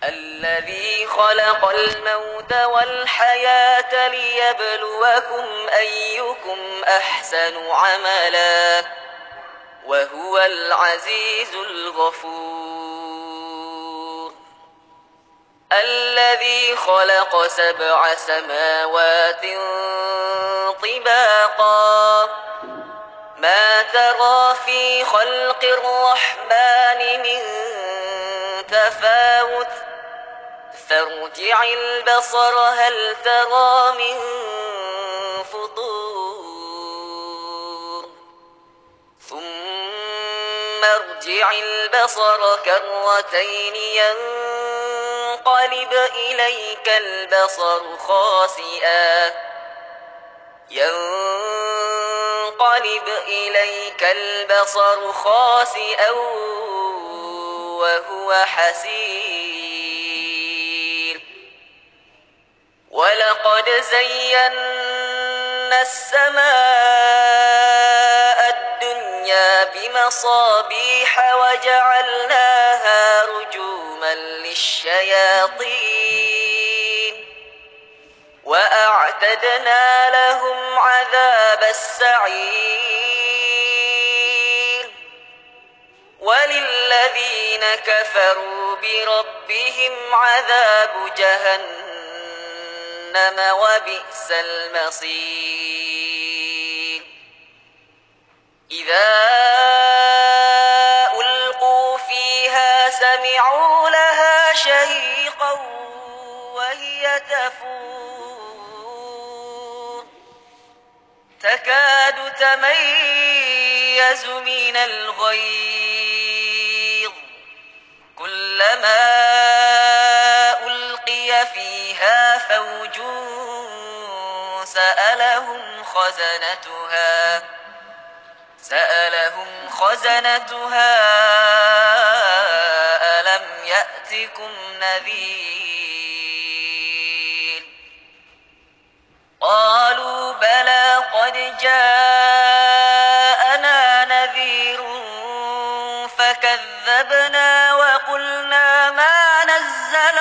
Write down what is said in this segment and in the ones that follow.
الذي خلق الموت والحياة ليبلوكم أيكم أحسن عملا وهو العزيز الغفور الذي خلق 7 سماوات طباقا ما ترى في خلق الرحمن من تفاوت فارجع البصر هل ترى من فطور ثم ارجع البصر كرتين ينقلب إليك البصر خاسئا وهو حسير ولقد زينا السماء الدنيا بمصابيح وجعلناها رجوما للشياطين وأعتدنا لهم عذاب السعير وللذين كفروا بربهم عذاب جهنم وبئس المصير إذا ألقوا فيها سمعوا لها شهيقا وهي تفور تكاد تميز من الغيظ كلما ألقي فيها فوج سألهم خزنتها ألم يأتكم نذير قالوا بلى قد جاءنا نذير فكذبنا وقلنا ما نزل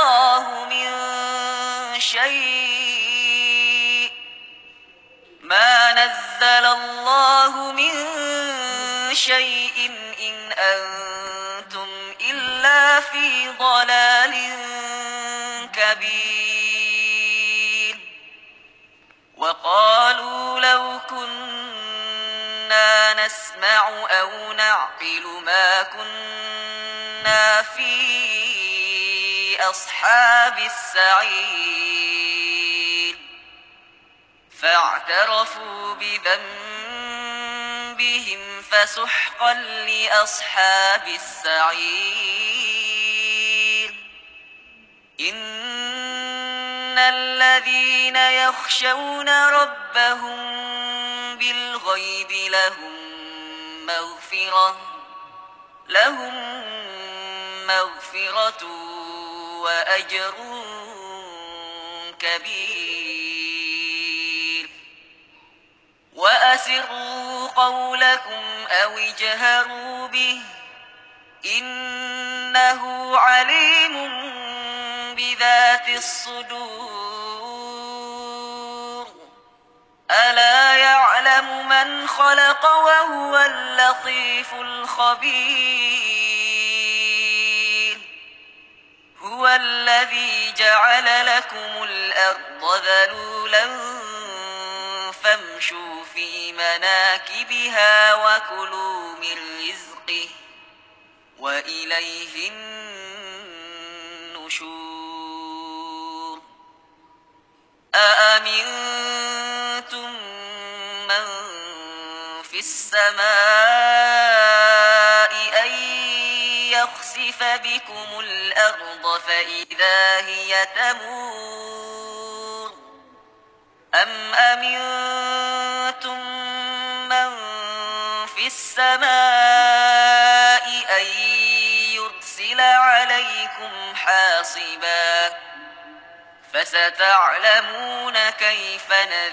الله من شيء إن أنتم إلا في ضلال كبير وقالوا لو كنا نسمع أو نعقل ما كنا في أصحاب السعير فاعترفوا بذنبهم فسحقا لأصحاب السعير إن الذين يخشون ربهم بالغيب لهم مغفرة وأجر كبير وأسروا قولكم أو اجهروا به إنه عليم بذات الصدور ألا يعلم من خلق وهو اللطيف الخبير هو الذي جعل لكم الأرض ذلولا فامشوا في مناكبها وكلوا من رزقه وإليه النشور أأمنتم من في السماء أن يخسف بكم الأرض فإذا هي تمور أم أمنتم من في السماء أن يرسل عليكم حاصبا فستعلمون كيف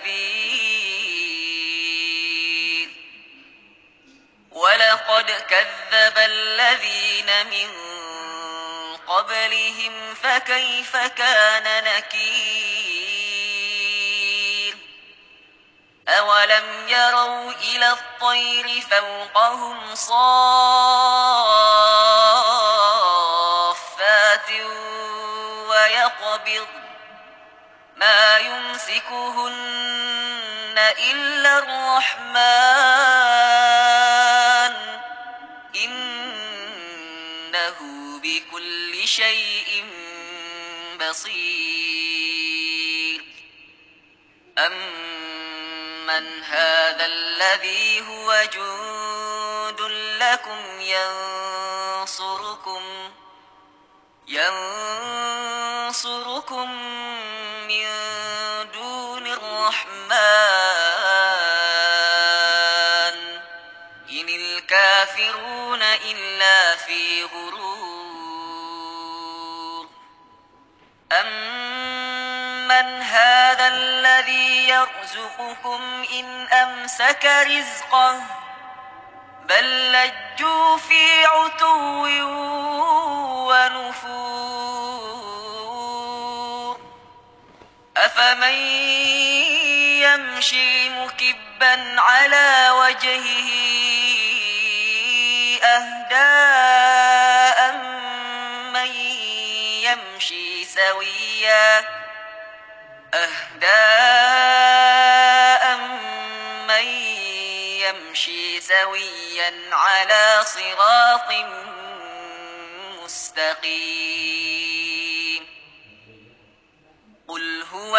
نذير ولقد كذب الذين من قبلهم فكيف كان نكير أولم يروا إلى الطير فوقهم صافات ويقبض ما يمسكهن إلا الرحمن إنه بكل شيء بصير أمن هذا الذي هو جند لكم ينصركم من دون الرحمن إن الكافرون إلا في غرور أمن هذا الذي يرزقكم إن أمسك رزقه بل لجوا في عتو ونفور أفمن يمشي مكبا على وجهه أهدى أمن يمشي سويا على صراط مستقيم قل هو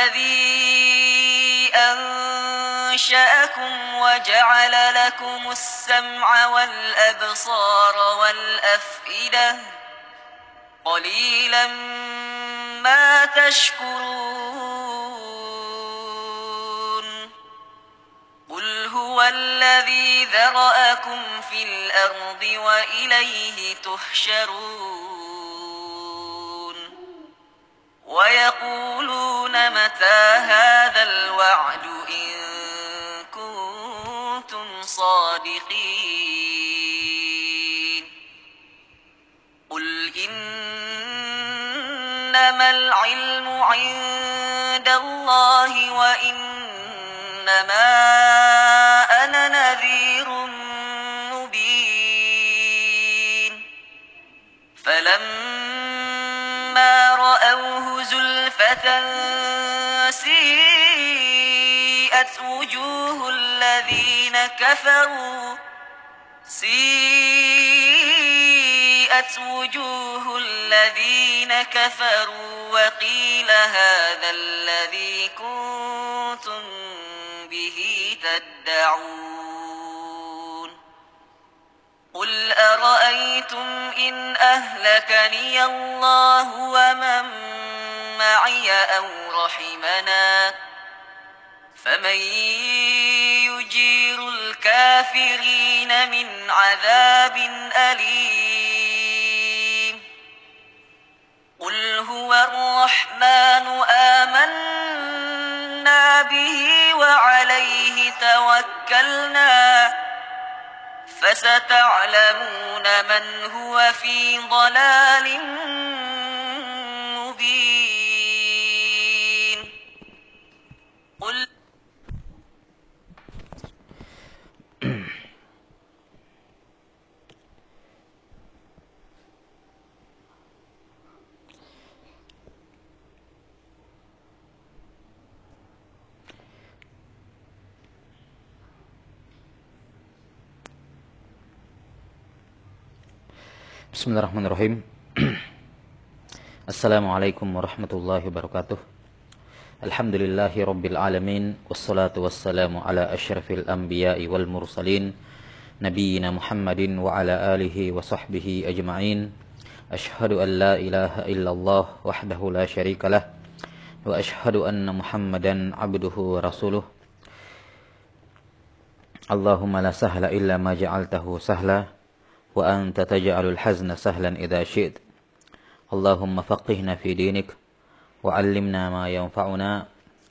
الذي أنشأكم وجعل لكم السمع والأبصار والأفئدة قليلا ما تشكرون قل هو الذي ذرأكم في الأرض وإليه تحشرون ويقولون متى هذا الوعد إن كنتم صادقين قل إنما العلم عند الله وإنما أنا نذير مبين فلما رأوه زلفة سيئت وجوه الذين كفروا وقيل هذا الذي كنتم به تدعون قل أرأيتم إن أهلكني الله ومن معي أو رحمنا فمن يجير الكافرين من عذاب أليم قل هو الرحمن آمنا به وعليه توكلنا فستعلمون من هو في ضلال مبين قل Bismillahirrahmanirrahim. Assalamualaikum warahmatullahi wabarakatuh. Alhamdulillahi rabbil alamin. Wassalatu wassalamu ala asyrafil anbiya'i wal mursalin Nabiyyina Muhammadin wa ala alihi wa sahbihi ajma'in. Ashhadu an la ilaha illallah wahdahu la syarikalah wa ashhadu anna Muhammadan abduhu wa rasuluh. Allahumma la sahla illa ma ja'altahu sahla wa anta taj'alul hazna sahlan idza syi'ta. Allahumma faqihna fi dinik wa 'allimna ma yanfa'una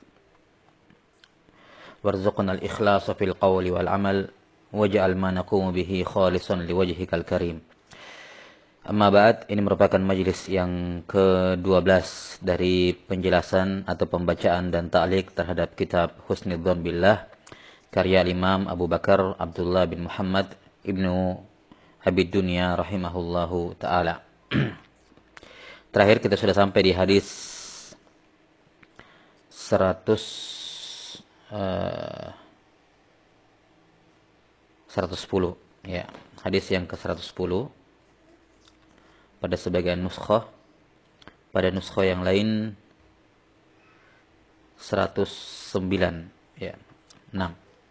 warzuqna al-ikhlasa fil qawli wal 'amal waj'al ma naqumu bihi khalisan liwajhikal karim. Amma ba'd, ini merupakan majelis yang ke-12 dari penjelasan atau pembacaan dan ta'liq terhadap kitab Husnudzon Billah karya Imam Abu Bakar Abdullah bin Muhammad Ibnu Abid Dunya rahimahullahu ta'ala. Terakhir kita sudah sampai di hadis 110 ya, hadis yang ke-110 pada sebagian nuskhah, pada nuskhah yang lain 109 ya. 6.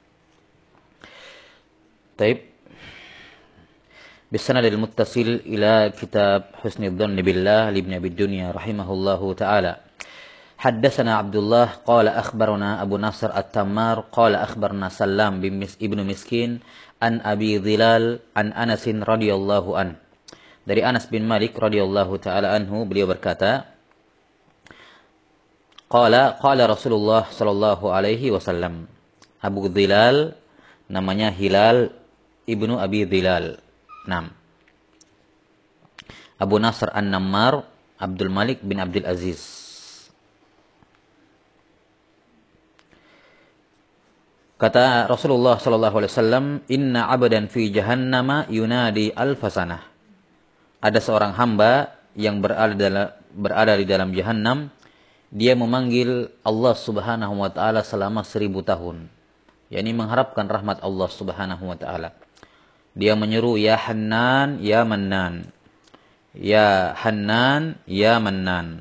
Taib. Bisanad al-muttasil ila kitab Husnudzon Billah li Ibn Abi Dunya rahimahullahu taala. Haddatsana Abdullah qala akhbarana Abu Nasr At-Tammar qala akhbarna Sallam bin Ibnu Miskin an Abi Dhilal an Anas radhiyallahu an. Dari Anas bin Malik radhiyallahu taala anhu, beliau berkata, qala Rasulullah sallallahu alaihi wasallam. Abu Dhilal namanya Hilal ibnu Abi Dhilal. 6. Abu Nasr An-Nammar Abdul Malik bin Abdul Aziz. Kata Rasulullah sallallahu alaihi wasallam, inna 'abdan fi jahannama yunadi alfasanah. Ada seorang hamba yang berada di dalam jahannam, dia memanggil Allah Subhanahu wa taala selama 1000 tahun. yakni mengharapkan rahmat Allah Subhanahu wa taala. Dia menyeru ya Hannan ya Mannan. Ya Hannan ya Mannan.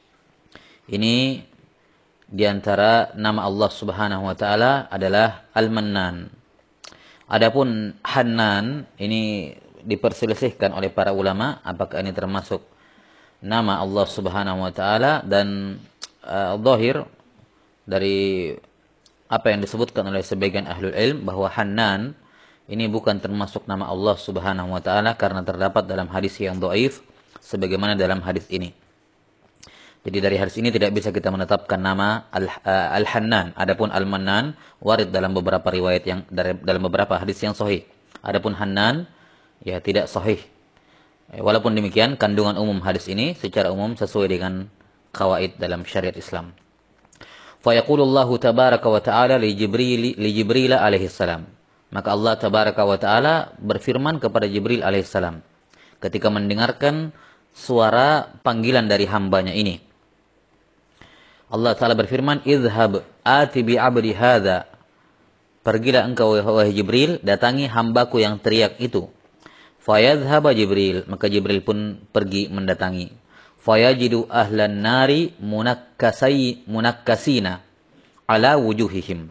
Ini di antara nama Allah Subhanahu wa taala adalah Al-Mannan. Adapun Hannan ini diperselisihkan oleh para ulama apakah ini termasuk nama Allah Subhanahu wa taala, dan zahir dari apa yang disebutkan oleh sebagian ahlul ilm bahwa Hannan ini bukan termasuk nama Allah Subhanahu wa taala karena terdapat dalam hadis yang dhaif sebagaimana dalam hadis ini. Jadi dari hadis ini tidak bisa kita menetapkan nama Al-Hannan. Adapun Al-Mannan warid dalam beberapa riwayat yang dalam beberapa hadis yang sahih. Adapun Hannan ya tidak sahih. Walaupun demikian kandungan umum hadis ini secara umum sesuai dengan qawaid dalam syariat Islam. Fa yaqulullahu tabaraka wa ta'ala li Jibril alaihi salam. Maka Allah tabaraka wa ta'ala berfirman kepada Jibril alaihi salam ketika mendengarkan suara panggilan dari hambanya ini. Allah Ta'ala berfirman, "Idhhab ati bi 'abdi hadza." Pergilah engkau wahai Jibril, datangi hambaku yang teriak itu. Fayadhhaba Jibril, maka Jibril pun pergi mendatangi. Fayajidu ahlan nari munakkasina ala wujuhihim.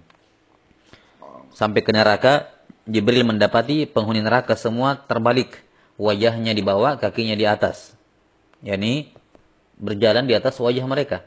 Sampai ke neraka, Jibril mendapati penghuni neraka semua terbalik, wajahnya di bawah, kakinya di atas. yakni berjalan di atas wajah mereka.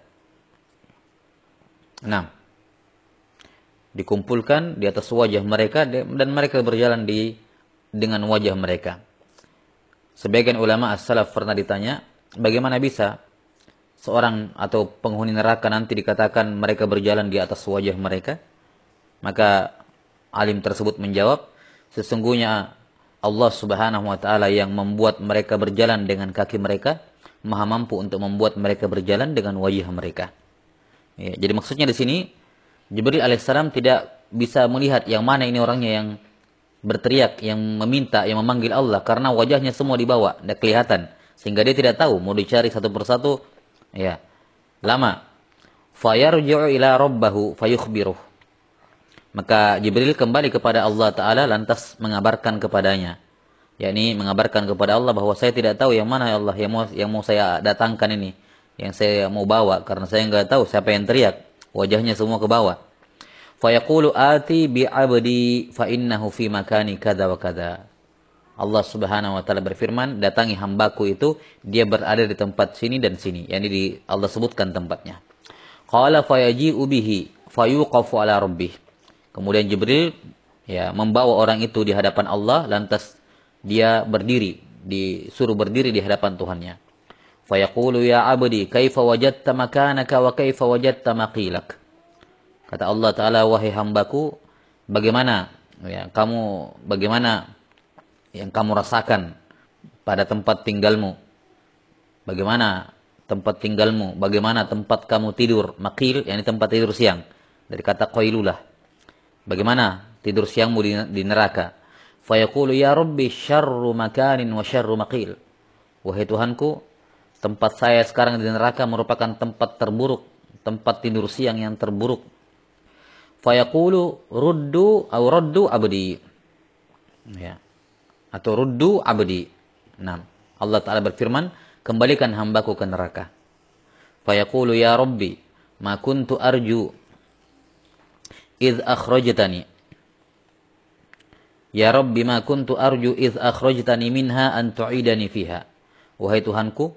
6. Dikumpulkan di atas wajah mereka dan mereka berjalan dengan wajah mereka. Sebagian ulama as-salaf pernah ditanya, bagaimana bisa seorang atau penghuni neraka nanti dikatakan mereka berjalan di atas wajah mereka? Maka alim tersebut menjawab, sesungguhnya Allah Subhanahu wa taala yang membuat mereka berjalan dengan kaki mereka, Maha mampu untuk membuat mereka berjalan dengan wajah mereka. Ya, jadi maksudnya di sini Jibril alaihissalam tidak bisa melihat yang mana ini orangnya yang berteriak, yang meminta, yang memanggil Allah karena wajahnya semua dibawa, tidak kelihatan, sehingga dia tidak tahu mau dicari satu persatu. Ya, lama. Fayarji'u ila rabbahu fayukhbiruh. Maka Jibril kembali kepada Allah Ta'ala lantas mengabarkan kepadanya. yakni mengabarkan kepada Allah bahwa saya tidak tahu yang mana ya Allah yang mau saya datangkan ini, yang saya mau bawa, karena saya enggak tahu siapa yang teriak, wajahnya semua ke bawah. Fa yaqulu ati bi 'abdi fa innahu fi makani kadza wa kadza. Allah Subhanahu wa taala berfirman, datangi hambaku itu, dia berada di tempat sini dan sini, yakni Allah sebutkan tempatnya. Qala fa yaji'u bihi fa yuqafu ala rabbih. Kemudian Jibril ya membawa orang itu di hadapan Allah, lantas dia berdiri, disuruh berdiri di hadapan Tuhannya. Fa yaqulu ya 'abdi kaifa wajadta makanaka wa kaifa wajadta maqilak. Kata Allah Ta'ala, wahai hambaku, bagaimana yang kamu rasakan pada tempat tinggalmu. Bagaimana tempat tinggalmu? Bagaimana tempat kamu tidur? Maqil, yakni tempat tidur siang. Dari kata qailulah. Bagaimana tidur siangmu di neraka? Fayaqulu ya Rabbi syarru makanin wa syarru maqil. Wahai Tuhanku, tempat saya sekarang di neraka merupakan tempat terburuk, tempat tidur siang yang terburuk. Fayaqulu ruddu abdi. Ya. Atau ruddu abdi. Nah, Allah Ta'ala berfirman, kembalikan hambaku ke neraka. Fayaqulu ya Rabbi, ma kuntu arju idh akhrajtani. Ya Rabbi, ma kuntu arju idh akhrajtani minha an tu'idani fiha. Wahai Tuhanku,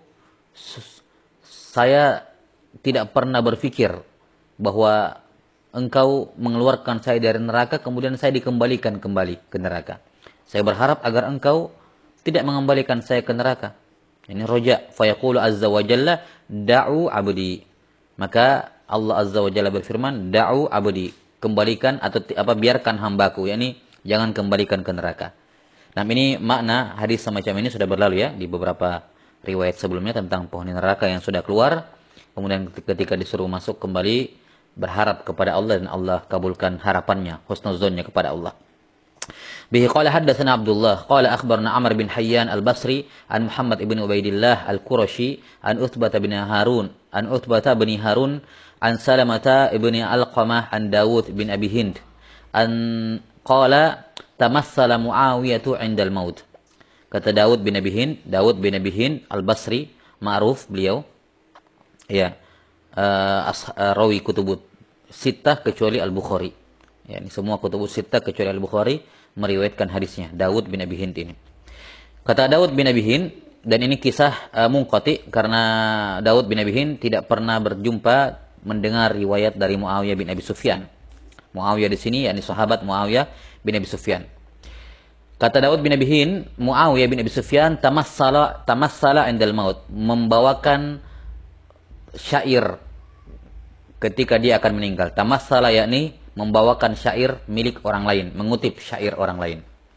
saya tidak pernah berpikir bahwa Engkau mengeluarkan saya dari neraka, kemudian saya dikembalikan kembali ke neraka. Saya berharap agar Engkau tidak mengembalikan saya ke neraka. Ini roja. Fayaqulu azza wa jalla, da'u abdi. Maka Allah azza wa jalla berfirman, da'u abdi. Kembalikan atau biarkan hambaku. Yani jangan kembalikan ke neraka. Nah, ini makna hadis semacam ini sudah berlalu ya di beberapa riwayat sebelumnya tentang penghuni neraka yang sudah keluar. Kemudian ketika disuruh masuk kembali, berharap kepada Allah dan Allah kabulkan harapannya, husnuzonnya kepada Allah. Bihi qala haddatsana Abdullah qala akhbarna Amr bin Hayyan al-Basri an Muhammad ibn Ubaidillah al-Qurashi an Uthbah bin Harun an Salamah ibn Alqamah an Dawud bin Abi Hind an qala tamassala Muawiyah 'inda al-maut. Kata Dawud bin Abi Hind al-Basri, ma'ruf beliau ya, rawi kutubut sittah kecuali Al-Bukhari. Ya, ini semua kutubut sittah kecuali Al-Bukhari meriwayatkan hadisnya, Dawud bin Abi Hind ini. Kata Dawud bin Abi Hind, dan ini kisah munqati karena Dawud bin Abi Hind tidak pernah berjumpa mendengar riwayat dari Muawiyah bin Abi Sufyan. Muawiyah di sini yakni sahabat Muawiyah bin Abi Sufyan. Kata Dawud bin Abi Hind, Muawiyah bin Abi Sufyan tamassala indal maut, membawakan syair ketika dia akan meninggal. Tamassala yakni membawakan syair milik orang lain, mengutip syair orang lain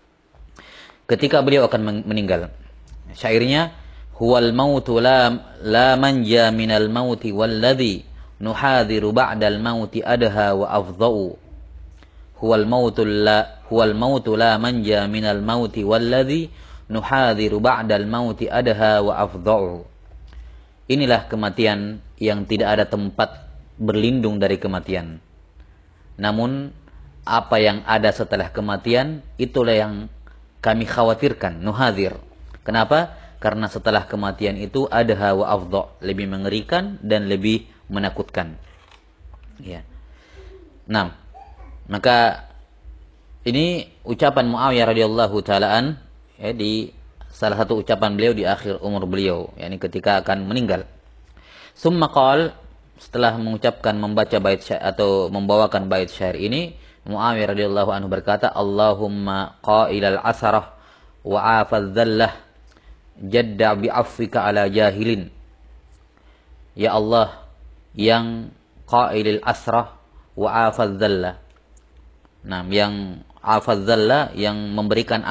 ketika beliau akan meninggal. Syairnya, huwal mautu la manja minal mauti walladhi nuhadhiru ba'dal mauti adha wa afdha'u. Huwal mautu la manja minal mauti walladhi nuhadhiru ba'dal mauti adha wa afdha'u. Inilah kematian yang tidak ada tempat berlindung dari kematian. Namun apa yang ada setelah kematian itulah yang kami khawatirkan, nuhadzir. Kenapa? Karena setelah kematian itu adha wa afdha, lebih mengerikan dan lebih menakutkan. Ya. Nah, maka ini ucapan Muawiyah radhiyallahu taalaan ya, di salah satu ucapan beliau di akhir umur beliau, yakni ketika akan meninggal. Summa qala, setelah membaca bait syair atau membawakan bait syair ini, Muawiyah radhiyallahu anhu berkata, Allahumma qailal asarah wa afadz dzallah jadda bi'afwika ala jahilin. Ya Allah, yang qailil asrah wa afadz dzallah. Nah, yang afadz dzallah, yang memberikan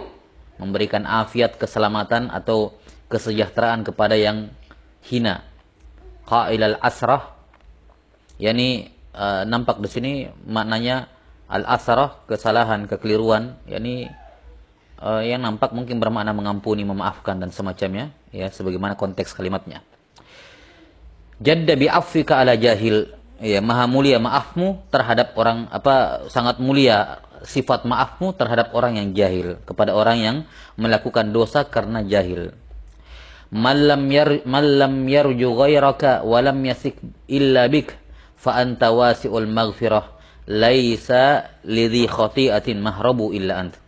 afiat keselamatan atau kesejahteraan kepada yang hina. Qailal asrah, yakni nampak di sini maknanya al-asrah, kesalahan, kekeliruan, yakni yang nampak mungkin bermakna mengampuni, memaafkan dan semacamnya, ya sebagaimana konteks kalimatnya. Jadda bi'afwika ala jahil, ya maha mulia maafmu terhadap orang sangat mulia sifat maafmu terhadap orang yang jahil, kepada orang yang melakukan dosa karena jahil. Mallam yarju ghairaka wa lam yasik illa bik fa anta wasi'ul maghfirah laisa lidhi khati'atin mahrabu illa ant.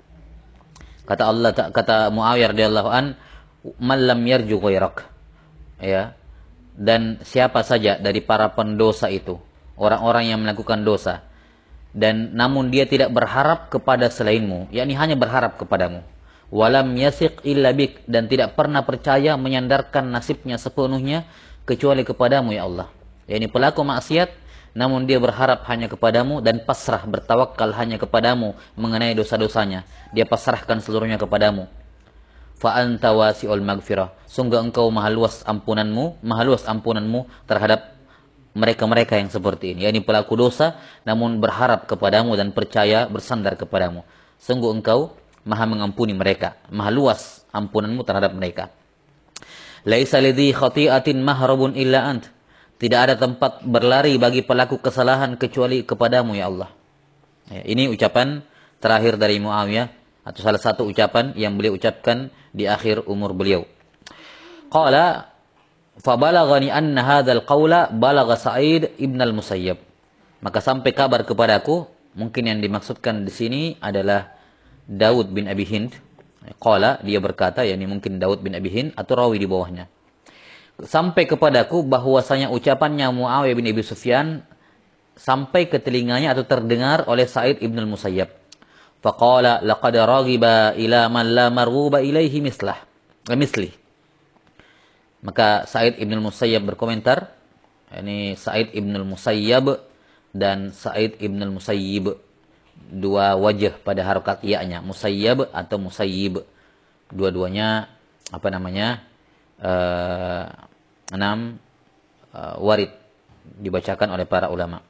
Kata Muawiyah radhiyallahu an, mallam yarju ghairak, ya, dan siapa saja dari para pendosa itu, orang-orang yang melakukan dosa, dan namun dia tidak berharap kepada selainmu, yakni hanya berharap kepadamu. Walam yasiq illa bik, dan tidak pernah percaya menyandarkan nasibnya sepenuhnya kecuali kepadamu ya Allah. Yakni pelaku maksiat namun dia berharap hanya kepadamu dan pasrah bertawakal hanya kepadamu mengenai dosa-dosanya. Dia pasrahkan seluruhnya kepadamu. fa anta wasi'ul maghfirah. Sungguh engkau maha luas ampunanmu terhadap mereka-mereka yang seperti ini, yakni pelaku dosa namun berharap kepadamu dan percaya bersandar kepadamu. Sungguh engkau maha mengampuni mereka, maha luas ampunanmu terhadap mereka. Laisa lidhi khati'atin mahrabun illa ant. Tidak ada tempat berlari bagi pelaku kesalahan kecuali kepadamu ya Allah. Ya, ini ucapan terakhir dari Muawiyah, atau salah satu ucapan yang beliau ucapkan di akhir umur beliau. Qala fabalaghani anna hadzal qawla balagha Sa'id ibn al-Musayyab. Maka sampai kabar kepadaku, mungkin yang dimaksudkan di sini adalah Daud bin Abi Hind. Qala, dia berkata, yakni mungkin Daud bin Abi Hind atau rawi di bawahnya. Sampai kepadaku bahwasanya ucapannya Muawiyah bin Abi Sufyan sampai ke telinganya atau terdengar oleh Sa'id ibn al-Musayyab. Faqala laqad raghiba ila man la marghuba ilaihi misli. Maka Sa'id ibn al-Musayyab berkomentar, ini Sa'id ibn al-Musayyab dan Sa'id ibn al-Musayyib, dua wajah pada harokat iya-nya, Musayyab atau Musayyib. Dua-duanya warid dibacakan oleh para ulama.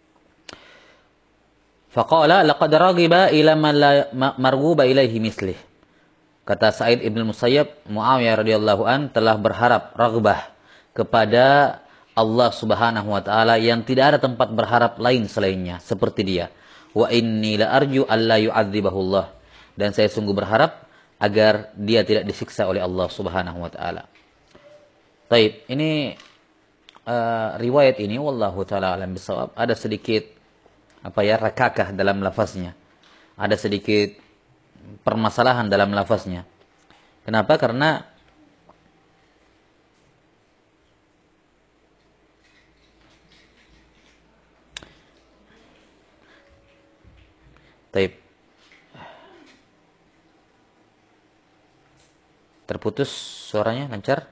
Faqala laqad raghiba ila man la marghuba ilaihi mislih. Kata Sa'id ibn Musayyab, Muawiyah radhiyallahu an telah berharap raghbah kepada Allah Subhanahu wa taala yang tidak ada tempat berharap lain selainnya seperti dia. Wa inni la arju alla yu'adzibahullah, dan saya sungguh berharap agar dia tidak disiksa oleh Allah Subhanahu wa taala. Baik, ini riwayat ini wallahu taala alam bisawab ada sedikit rakakah dalam lafaznya. Ada sedikit permasalahan dalam lafaznya. Kenapa? Karena terputus suaranya, lancar?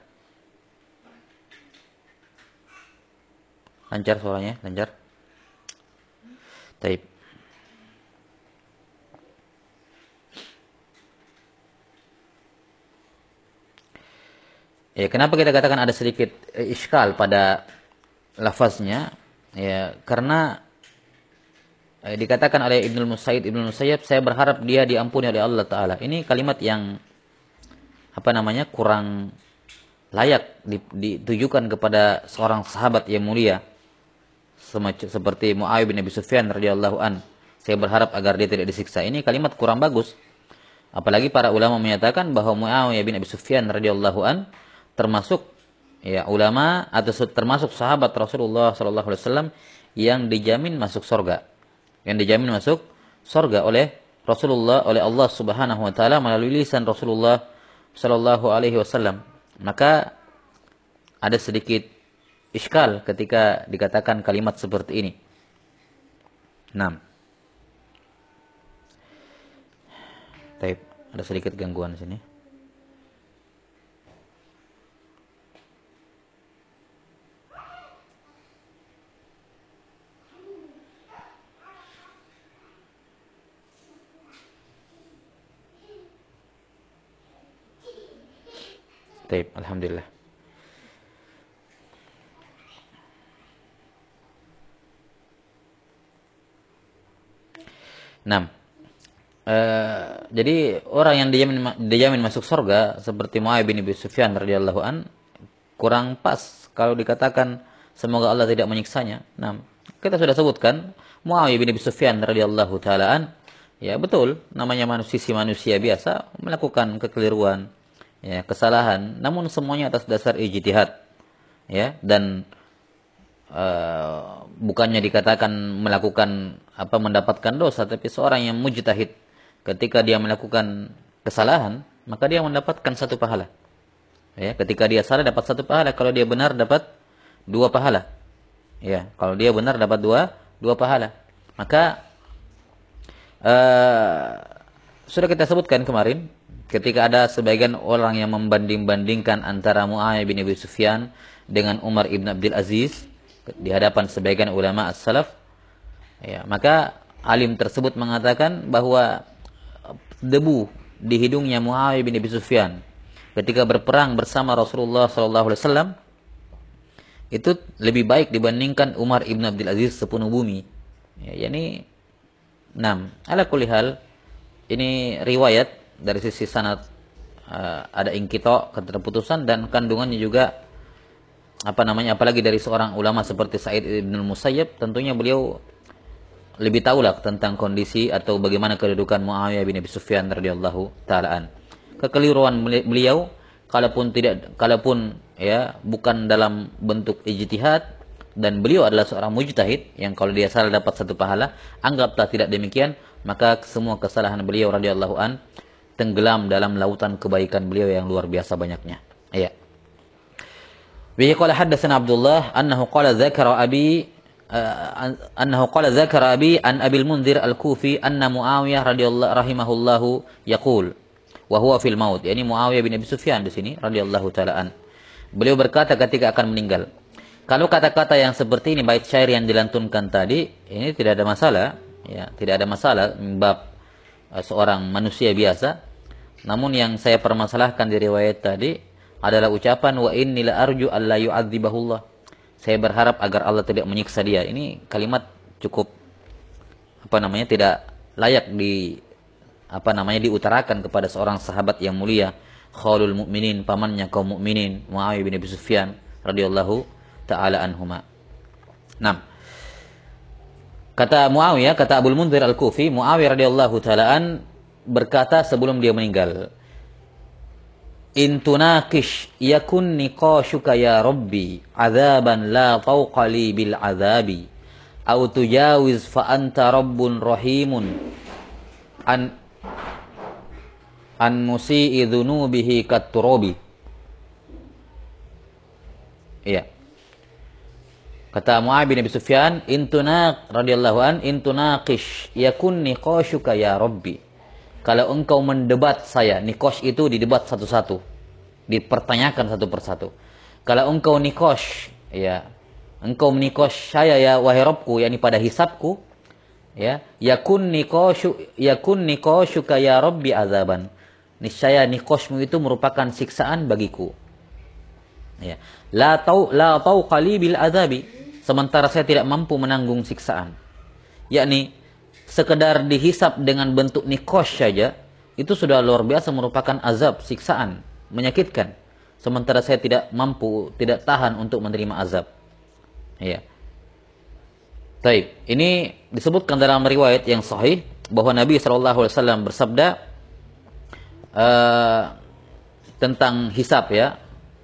Lancar suaranya, lancar? Taib. Ya, kenapa kita katakan ada sedikit iskal pada lafaznya? Ya, karena dikatakan oleh Ibnu Musayyab, saya berharap dia diampuni oleh Allah Ta'ala. Ini kalimat yang kurang layak ditujukan kepada seorang sahabat yang mulia seperti Muawiyah bin Abi Sufyan radhiyallahu an. Saya berharap agar dia tidak disiksa. Ini kalimat kurang bagus. Apalagi para ulama menyatakan bahwa Muawiyah bin Abi Sufyan radhiyallahu an termasuk ulama atau termasuk sahabat Rasulullah sallallahu alaihi wasallam yang dijamin masuk surga. Yang dijamin masuk surga oleh Rasulullah, oleh Allah Subhanahu wa taala melalui lisan Rasulullah sallallahu alaihi wasallam. Maka ada sedikit iskal ketika dikatakan kalimat seperti ini. 6. Baik, ada sedikit gangguan di sini. Baik, alhamdulillah. Jadi orang yang dijamin masuk surga seperti Muawiyah bin Abi Sufyan radhiyallahu an kurang pas kalau dikatakan semoga Allah tidak menyiksanya. Kita sudah sebutkan Muawiyah bin Abi Sufyan radhiyallahu taala an, ya betul, namanya manusia biasa melakukan kekeliruan, ya, kesalahan, namun semuanya atas dasar ijtihad, ya, dan bukannya dikatakan mendapatkan dosa, tapi seorang yang mujtahid ketika dia melakukan kesalahan maka dia mendapatkan satu pahala, ya, ketika dia salah dapat satu pahala, kalau dia benar dapat dua pahala, ya, kalau dia benar dapat dua pahala. Maka sudah kita sebutkan kemarin ketika ada sebagian orang yang membanding-bandingkan antara Muawiyah bin Abi Sufyan dengan Umar ibn Abdul Aziz di hadapan sebagian ulama as-salaf, ya, maka alim tersebut mengatakan bahwa debu di hidungnya Muawiyah bin Abi Sufyan ketika berperang bersama Rasulullah SAW itu lebih baik dibandingkan Umar ibn Abdul Aziz sepenuh bumi. Ya, yani 6. Ala kulli hal, ini riwayat dari sisi sanad ada inqita, keterputusan, dan kandungannya juga apalagi dari seorang ulama seperti Sa'id ibn al-Musayyab, tentunya beliau lebih tahulah tentang kondisi atau bagaimana kedudukan Muawiyah bin Abi Sufyan radhiyallahu taalaan. Kekeliruan beliau kalaupun ya bukan dalam bentuk ijtihad, dan beliau adalah seorang mujtahid yang kalau dia salah dapat satu pahala, anggaplah tidak demikian, maka semua kesalahan beliau radhiyallahu an tenggelam dalam lautan kebaikan beliau yang luar biasa banyaknya. Ya. Bihi qala haddatsana Abdullah annahu qala dzakara abi an Abil Munzir Al-Kufi anna Muawiyah radhiyallahu rahimahullahu yaqul wa huwa fil maut. Yani Muawiyah bin Abi Sufyan di sini radhiyallahu taala an. Beliau berkata ketika akan meninggal. Kalau kata-kata yang seperti ini, bait syair yang dilantunkan tadi, ini tidak ada masalah, ya, tidak ada masalah bab seorang manusia biasa. Namun yang saya permasalahkan di riwayat tadi adalah ucapan wa inni la arju alla yu'adzibahullah. Saya berharap agar Allah tidak menyiksa dia. Ini kalimat cukup tidak layak diutarakan kepada seorang sahabat yang mulia, khalul mukminin, pamannya kaum mukminin, Muawiyah bin Abi Sufyan radhiyallahu taala anhuma. 6. Kata Muawiyah, kata Abul Munzir Al-Kufi, Muawiyah radhiyallahu taala an berkata sebelum dia meninggal, in tunaqish yakun niqashuka ya rabbi azaban la fawqa li bil azabi aw tujawiz fa anta rabbun rahimun an musii dhunubihi kat turabi. Iya. Kata Muawiyah bin Abi Sufyan, radhiyallahu an, in tunaqish yakun niqashuka ya rabbi. Kalau engkau mendebat saya, nikosh itu didebat satu-satu, dipertanyakan satu persatu. Kalau engkau nikosh, ya, engkau menikosh saya ya wahai Rabbku, yakni pada hisabku, ya, yakun nikoshuka ya Rabbi azaban. Niscaya nikoshmu itu merupakan siksaan bagiku. Ya, la tauqali bil azabi, sementara saya tidak mampu menanggung siksaan. Yakni sekedar dihisap dengan bentuk nikosh saja, itu sudah luar biasa merupakan azab, siksaan, menyakitkan. Sementara saya tidak mampu, tidak tahan untuk menerima azab. Ya. Baik, ini disebutkan dalam riwayat yang sahih bahwa Nabi SAW bersabda tentang hisab, ya.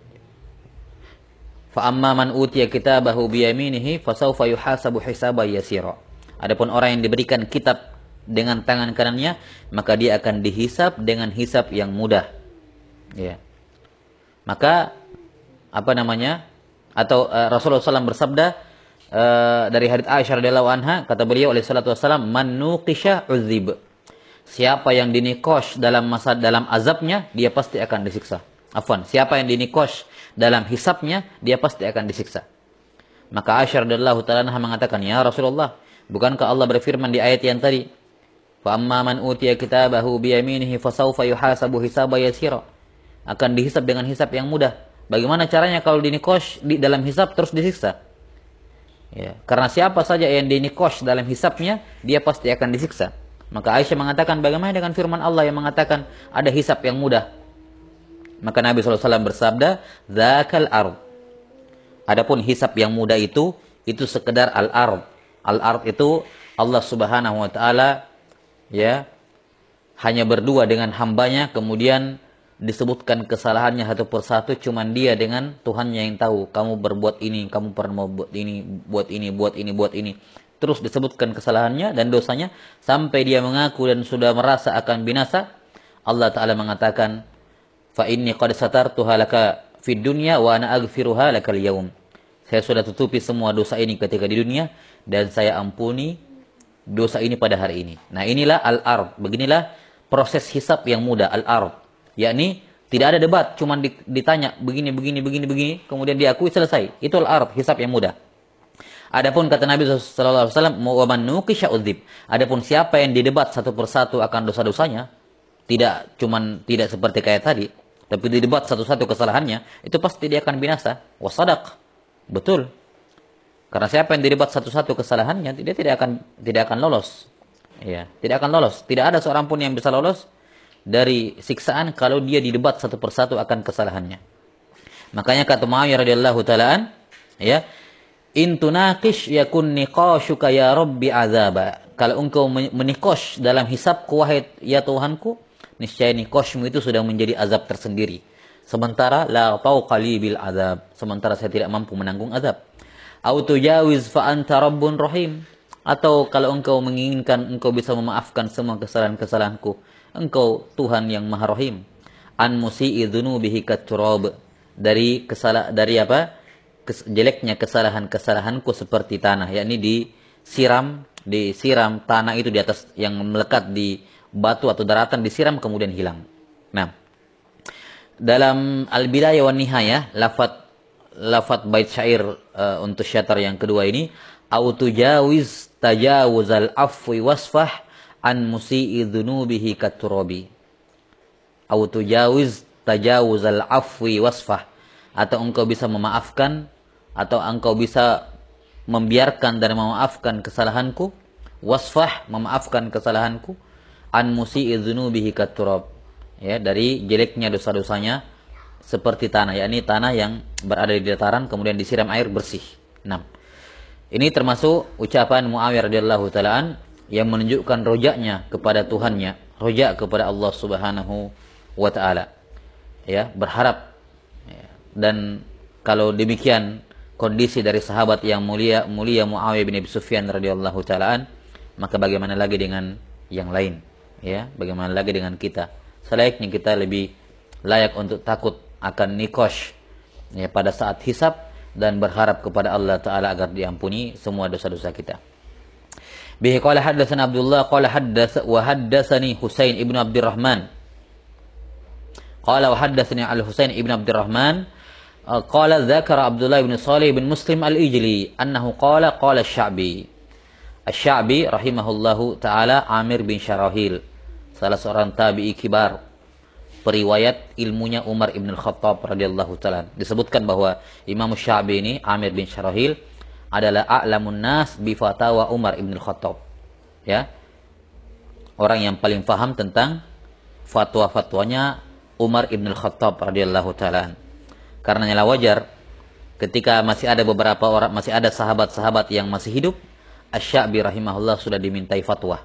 Fa amma man utiya kitabahu bi yaminihi fasawfa yuhasabu hisaban yasira. Adapun orang yang diberikan kitab dengan tangan kanannya, maka dia akan dihisab dengan hisab yang mudah. Ya. Maka Rasulullah SAW bersabda dari hadits Aisyah radhiyallahu anha, kata beliau alaihi salatu wasallam, man nuqisha uzib. Siapa yang dinikosh dalam azabnya, dia pasti akan disiksa. Siapa yang dinikosh dalam hisabnya, dia pasti akan disiksa. Maka Aisyah radhiyallahu taala anha mengatakan, ya Rasulullah, bukankah Allah berfirman di ayat yang tadi, fa amma man utiya kitabahu bi yaminihi fasawfa yuhasabu hisaban yasira, akan dihisab dengan hisab yang mudah. Bagaimana caranya kalau dinikosh di dalam hisab terus disiksa? Ya, karena siapa saja yang dinikosh dalam hisabnya, dia pasti akan disiksa. Maka Aisyah mengatakan, bagaimana dengan firman Allah yang mengatakan ada hisab yang mudah? Maka Nabi SAW bersabda, dzakal ard. Adapun hisab yang mudah itu sekedar al-ard. Al-ard itu Allah Subhanahu wa taala, ya, hanya berdua dengan hambanya, kemudian disebutkan kesalahannya satu persatu, cuman dia dengan Tuhannya yang tahu. Kamu berbuat ini, kamu pernah buat ini, buat ini, buat ini, buat ini. Terus disebutkan kesalahannya dan dosanya sampai dia mengaku dan sudah merasa akan binasa. Allah taala mengatakan, fa inni qad satartuha laka fid dunya wa ana aghfiruha lakal yaum. Saya sudah tutupi semua dosa ini ketika di dunia, dan saya ampuni dosa ini pada hari ini. Nah, inilah al-ard. Beginilah proses hisab yang mudah, al-ard. Yakni tidak ada debat, cuma ditanya begini, kemudian diakui, selesai. Itu al-ard, hisab yang mudah. Adapun kata Nabi sallallahu alaihi wasallam, wa man nuqisha udzib. Adapun siapa yang didebat satu persatu akan dosa-dosanya, tidak seperti kayak tadi. Tapi didebat satu-satu kesalahannya, itu pasti dia akan binasa. Wasadaq. Betul. Karena siapa yang didebat satu-satu kesalahannya, dia tidak akan lolos. Ya, tidak akan lolos. Tidak ada seorang pun yang bisa lolos dari siksaan kalau dia didebat satu persatu akan kesalahannya. Makanya kata Muawiyah radhiyallahu taalaan, ya, in tunaqish yakun niqashuka ya rabbi azaba. Kalau engkau menikosh dalam hisabku wahai ya Tuhanku, niscaya nikoshmu itu sudah menjadi azab tersendiri. Sementara la tauqali bil azab, sementara saya tidak mampu menanggung azab. Au tujawiz fa anta rabbun rahim. Atau kalau engkau menginginkan engkau bisa memaafkan semua kesalahan-kesalahanku, engkau Tuhan yang Maha Rahim. An musi'i dzunubihi katurab. Dari jeleknya kesalahan-kesalahanku seperti tanah, yakni disiram tanah itu di atas yang melekat di batu atau daratan, disiram kemudian hilang. Nah, dalam Al-Bidayah wan Nihayah, lafaz bait syair untuk syatar yang kedua ini, au tujawiz tajawuzal afwi wasfah an musi'i dzunubihi katurabi. Au tujawiz tajawuzal afwi wasfah, atau engkau bisa memaafkan, atau engkau bisa membiarkan dan memaafkan kesalahanku, wasfah, memaafkan kesalahanku, an musi'i dzunubihi katurab, ya, dari jeleknya dosa-dosanya seperti tanah, yakni tanah yang berada di dataran kemudian disiram air bersih. Nah, ini termasuk ucapan Muawiyah radhiyallahu taalaan yang menunjukkan rojaknya kepada Tuhannya, rojak kepada Allah Subhanahu wa taala. Ya, berharap. Ya. Dan kalau demikian kondisi dari sahabat yang mulia Muawiyah bin Abi Sufyan radhiyallahu taalaan, maka bagaimana lagi dengan yang lain? Ya, bagaimana lagi dengan kita? Selayaknya kita lebih layak untuk takut akan nikosh, ya, pada saat hisab, dan berharap kepada Allah Ta'ala agar diampuni semua dosa-dosa kita. Bihi qala haddatsana Abdullah qala haddatsani Husain ibnu Abdurrahman qala wa haddatsani Al-Husain ibnu Abdurrahman qala dzakara Abdullah ibn Salih bin Muslim Al-Ijli annahu qala Asy-Sya'bi rahimahullahu taala Amir bin Syarahil, salah seorang tabi'i kibar, periwayat ilmunya Umar ibn al-Khattab radhiyallahu taala. Disebutkan bahwa Imam Sya'bi ini, Amir bin Syarahil, adalah a'lamun nas bi fatawa Umar ibn al-Khattab. Ya. Orang yang paling paham tentang fatwa-fatwanya Umar ibn al-Khattab radhiyallahu taala. Karenanya wajar ketika masih ada beberapa orang, masih ada sahabat-sahabat yang masih hidup, Asy-Sya'bi rahimahullah sudah dimintai fatwa.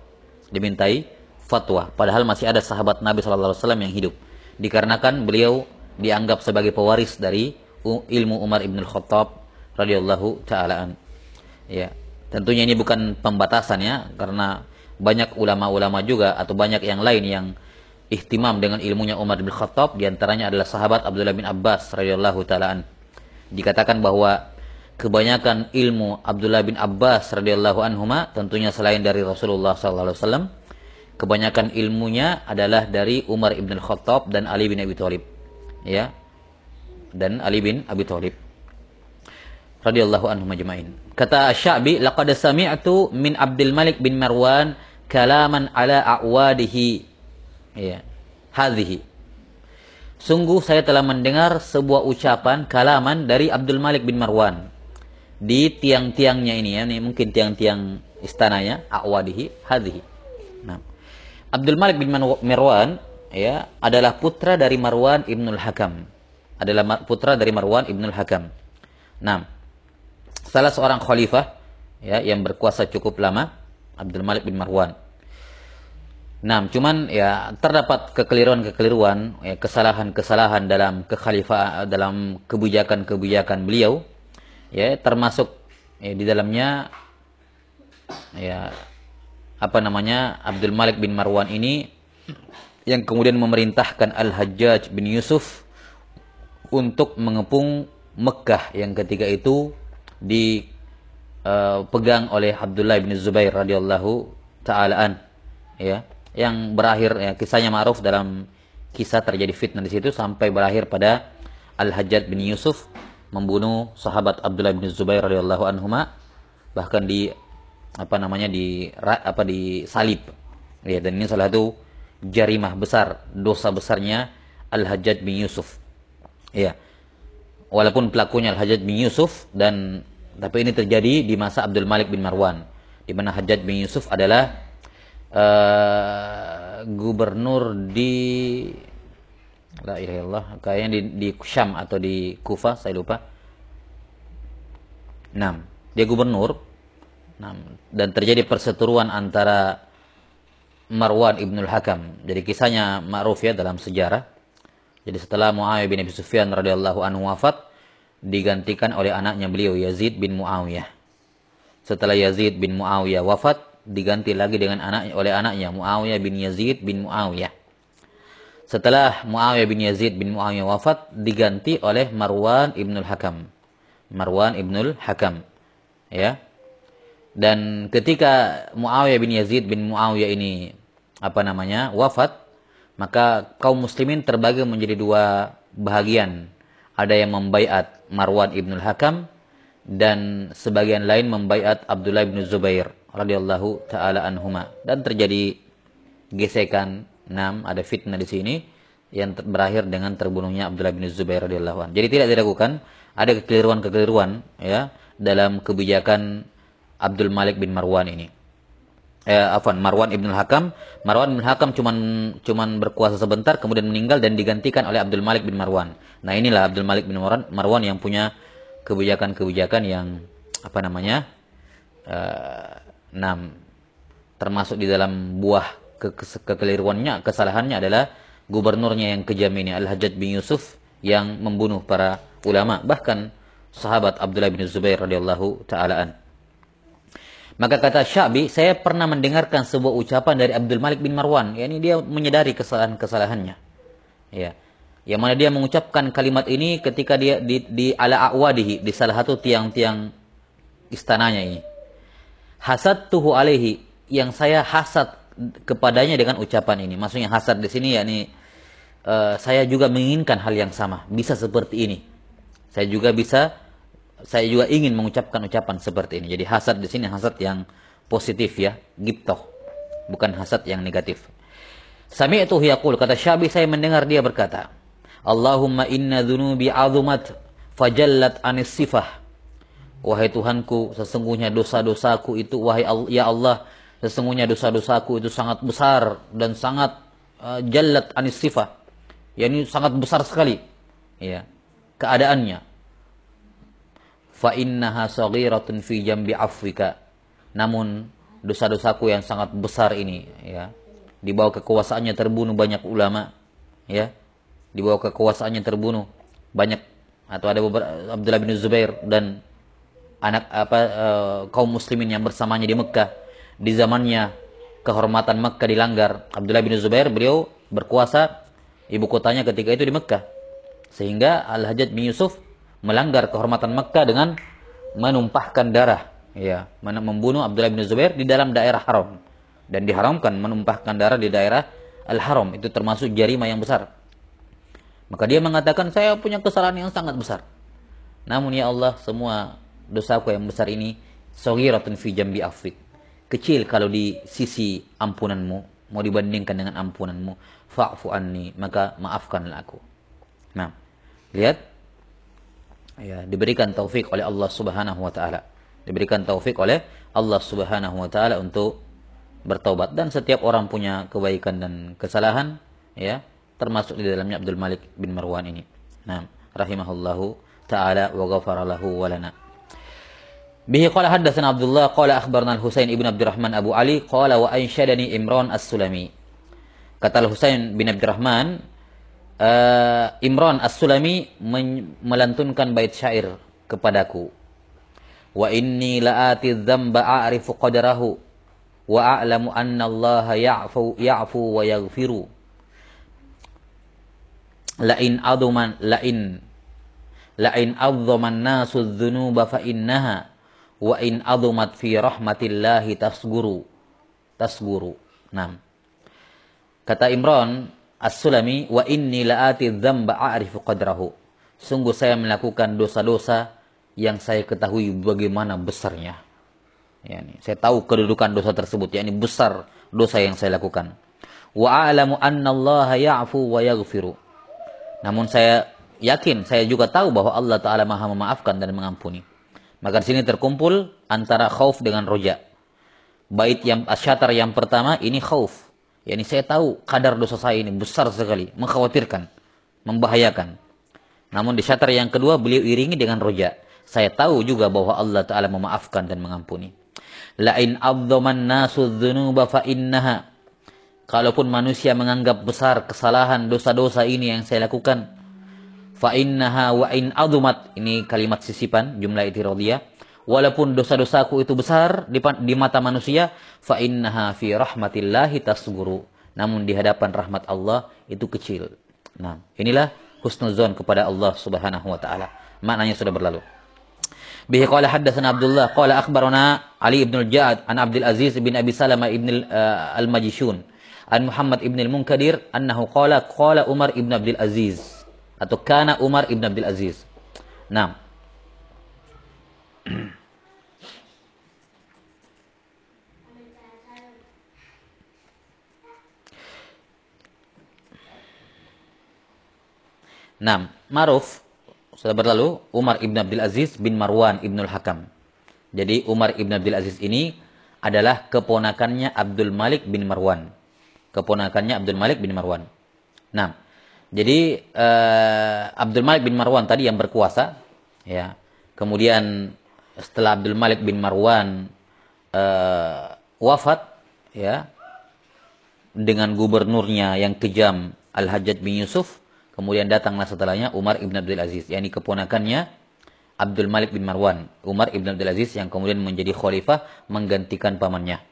Padahal masih ada sahabat Nabi sallallahu alaihi wasallam yang hidup. Dikarenakan beliau dianggap sebagai pewaris dari ilmu Umar ibn al-Khattab radhiyallahu ta'ala. Ya, tentunya ini bukan pembatasan, ya, karena banyak ulama-ulama juga atau banyak yang lain yang ihtimam dengan ilmunya Umar bin Khattab, di antaranya adalah sahabat Abdullah bin Abbas radhiyallahu ta'ala. Dikatakan bahwa kebanyakan ilmu Abdullah bin Abbas radhiyallahu anhuma, tentunya selain dari Rasulullah sallallahu alaihi wasallam, kebanyakan ilmunya adalah dari Umar ibn Khattab dan Ali bin Abi Thalib, ya, dan Ali bin Abi Thalib radhiyallahu anhum ajma'in. Kata Asy-Sya'bi, laqad sami'tu min Abdul Malik bin Marwan kalaman ala a'wadihi, ya, hadhihi. Sungguh saya telah mendengar sebuah ucapan kalaman dari Abdul Malik bin Marwan di tiang-tiangnya ini, ya, ini mungkin tiang-tiang istananya, a'wadihi hadhihi. Nah, Abdul Malik bin Marwan, ya, adalah putra dari Marwan ibnul Hakam. Nah, salah seorang khalifah, ya, yang berkuasa cukup lama, Abdul Malik bin Marwan. Nah, cuman, ya, terdapat kekeliruan-kekeliruan, ya, kesalahan-kesalahan dalam dalam kebijakan-kebijakan beliau, ya, termasuk, ya, di dalamnya, ya, Abdul Malik bin Marwan ini yang kemudian memerintahkan Al-Hajjaj bin Yusuf untuk mengepung Mekah yang ketika itu dipegang oleh Abdullah bin Zubair radhiyallahu ta'alaan, ya, yang berakhir, ya, kisahnya ma'ruf, dalam kisah terjadi fitnah di situ sampai berakhir pada Al-Hajjaj bin Yusuf membunuh sahabat Abdullah bin Zubair radhiyallahu anhuma, bahkan disalib, ya, dan ini salah satu jarimah besar, dosa besarnya Al-Hajjaj bin Yusuf. Ya. Walaupun pelakunya Al-Hajjaj bin Yusuf, tapi ini terjadi di masa Abdul Malik bin Marwan, di mana Hajjaj bin Yusuf adalah gubernur di la ilaha illallah, kayaknya di Syam atau di Kufah, saya lupa. Dia gubernur. Dan terjadi perseteruan antara Marwan ibnul Hakam. Jadi kisahnya ma'ruf ya dalam sejarah. Jadi setelah Muawiyah bin Abi Sufyan radhiyallahu anhu wafat, digantikan oleh anaknya beliau Yazid bin Muawiyah. Setelah Yazid bin Muawiyah wafat, diganti lagi oleh anaknya Muawiyah bin Yazid bin Muawiyah. Setelah Muawiyah bin Yazid bin Muawiyah wafat, diganti oleh Marwan ibnul Hakam. Marwan ibnul Hakam. Ya. Dan ketika Muawiyah bin Yazid bin Muawiyah ini wafat, maka kaum muslimin terbagi menjadi dua bahagian. Ada yang membaiat Marwan ibnul Hakam dan sebagian lain membaiat Abdullah bin Zubair radhiyallahu taala anhuma. Dan terjadi gesekan, ada fitnah di sini yang berakhir dengan terbunuhnya Abdullah bin Zubair radhiyallahu anhu. Jadi tidak diragukan ada kekeliruan ya dalam kebijakan Abdul Malik bin Marwan ini. Marwan ibnul Hakam. Marwan ibnul Hakam cuman berkuasa sebentar, kemudian meninggal dan digantikan oleh Abdul Malik bin Marwan. Nah, inilah Abdul Malik bin Marwan yang punya kebijakan-kebijakan yang termasuk di dalam buah kekeliruannya, kesalahannya adalah gubernurnya yang kejam ini, Al-Hajjaj bin Yusuf, yang membunuh para ulama, bahkan sahabat Abdullah bin Zubair radhiyallahu taala an. Maka kata Sya'bi, saya pernah mendengarkan sebuah ucapan dari Abdul Malik bin Marwan, yakni dia menyadari kesalahan-kesalahannya. Ya. Yang mana dia mengucapkan kalimat ini ketika dia di ala a'wadihi, di salah satu tiang-tiang istananya ini. Hasadtuhu alaihi, yang saya hasad kepadanya dengan ucapan ini. Maksudnya hasad di sini yakni saya juga menginginkan hal yang sama, bisa seperti ini. Saya juga ingin mengucapkan ucapan seperti ini. Jadi hasad di sini hasad yang positif ya, ghibthah, bukan hasad yang negatif. Sami'tuhu yaqul, kata Sya'bi, saya mendengar dia berkata, Allahumma inna dhunubi 'azumat fajallat 'anis sifah. Wahai Tuhanku, sesungguhnya dosa-dosaku itu, ya Allah, sesungguhnya dosa-dosaku itu sangat besar dan sangat jallat 'anis sifah. Yani sangat besar sekali ya keadaannya. Fa innaha saghiratun fi jambi afwika. Namun dosa-dosaku yang sangat besar ini ya, di bawah kekuasaannya terbunuh banyak ulama ya, di bawah kekuasaannya terbunuh banyak, atau ada beberapa Abdullah bin Zubair dan kaum muslimin yang bersamanya di Mekah. Di zamannya kehormatan Mekah dilanggar. Abdullah bin Zubair, beliau berkuasa, ibu kotanya ketika itu di Mekah, sehingga Al-Hajjaj bin Yusuf melanggar kehormatan Mekah dengan menumpahkan darah, ya, membunuh Abdullah bin Zubair di dalam daerah haram, dan diharamkan menumpahkan darah di daerah Al-Haram, itu termasuk jarimah yang besar. Maka dia mengatakan, saya punya kesalahan yang sangat besar. Namun ya Allah, semua dosaku yang besar ini saghiratun fi jambi afwik, kecil kalau di sisi ampunanmu, mau dibandingkan dengan ampunanmu. Fa'fu anni, maka maafkanlah aku. Nah, lihat ya, diberikan taufik oleh Allah Subhanahu wa taala. Diberikan taufik oleh Allah Subhanahu wa taala untuk bertaubat, dan setiap orang punya kebaikan dan kesalahan ya, termasuk di dalamnya Abdul Malik bin Marwan ini. Nah, rahimahullahu taala wa ghafara lahu wa lana. Bihi qala haddatsana Abdullah qala akhbarana Al-Husain ibn Abdurrahman Abu Ali qala wa ansyadani Imran As-Sulami. Kata Al-Husain bin Abdurrahman, Imran As-Sulami melantunkan bait syair kepadaku. Wa inni la'ati dzamba a'rifu qadarahu wa a'lamu anna Allah ya'fu wa yaghfiru. La'in adzaman nasu dzunuba fa innaha wa in adzumat fi rahmatillahi tasguru. Nah, kata Imran As-Sulami, wa inni la'ati dzamba a'rifu qadrahu. Sungguh saya melakukan dosa-dosa yang saya ketahui bagaimana besarnya. Yani, saya tahu kedudukan dosa tersebut, yakni besar dosa yang saya lakukan. Wa a'lamu anna Allah ya'fu wa yaghfiru. Namun saya yakin, saya juga tahu bahwa Allah Ta'ala maha memaafkan dan mengampuni. Maka di sini terkumpul antara khauf dengan roja. Bait yang asyatar yang pertama ini khauf. Yani saya tahu kadar dosa saya ini besar sekali, mengkhawatirkan, membahayakan. Namun di syatar yang kedua beliau iringi dengan roja. Saya tahu juga bahwa Allah Ta'ala memaafkan dan mengampuni. La'in abdoman nasu dhunuba fa innaha. Kalaupun manusia menganggap besar kesalahan dosa-dosa ini yang saya lakukan, fa innaha wa in adumat, ini kalimat sisipan jumlah itiradiyah, walaupun dosa-dosaku itu besar di mata manusia, fa innaha fi rahmatillahi tasguru, namun di hadapan rahmat Allah itu kecil. Nah, inilah husnuzon kepada Allah Subhanahu wa taala. Maknanya sudah berlalu. Bihi qala haddatsana Abdullah qala akhbarana Ali ibn al-Ja'ad an Abdul Aziz bin Abi Salamah ibn al-Majishun an Muhammad ibn al-Munkadir annahu qala Umar ibn Abdul Aziz, atau kana Umar ibn Abdul Aziz. Nah. Nah, ma'ruf sudah berlalu Umar ibn Abdul Aziz bin Marwan ibnul Hakam. Jadi Umar ibn Abdul Aziz ini adalah keponakannya Abdul Malik bin Marwan. Keponakannya Abdul Malik bin Marwan. Nah, jadi Abdul Malik bin Marwan tadi yang berkuasa, ya. Kemudian setelah Abdul Malik bin Marwan wafat, ya, dengan gubernurnya yang kejam Al-Hajjaj bin Yusuf, kemudian datanglah setelahnya Umar ibn Abdul Aziz, yakni keponakannya Abdul Malik bin Marwan, Umar ibn Abdul Aziz yang kemudian menjadi khalifah menggantikan pamannya.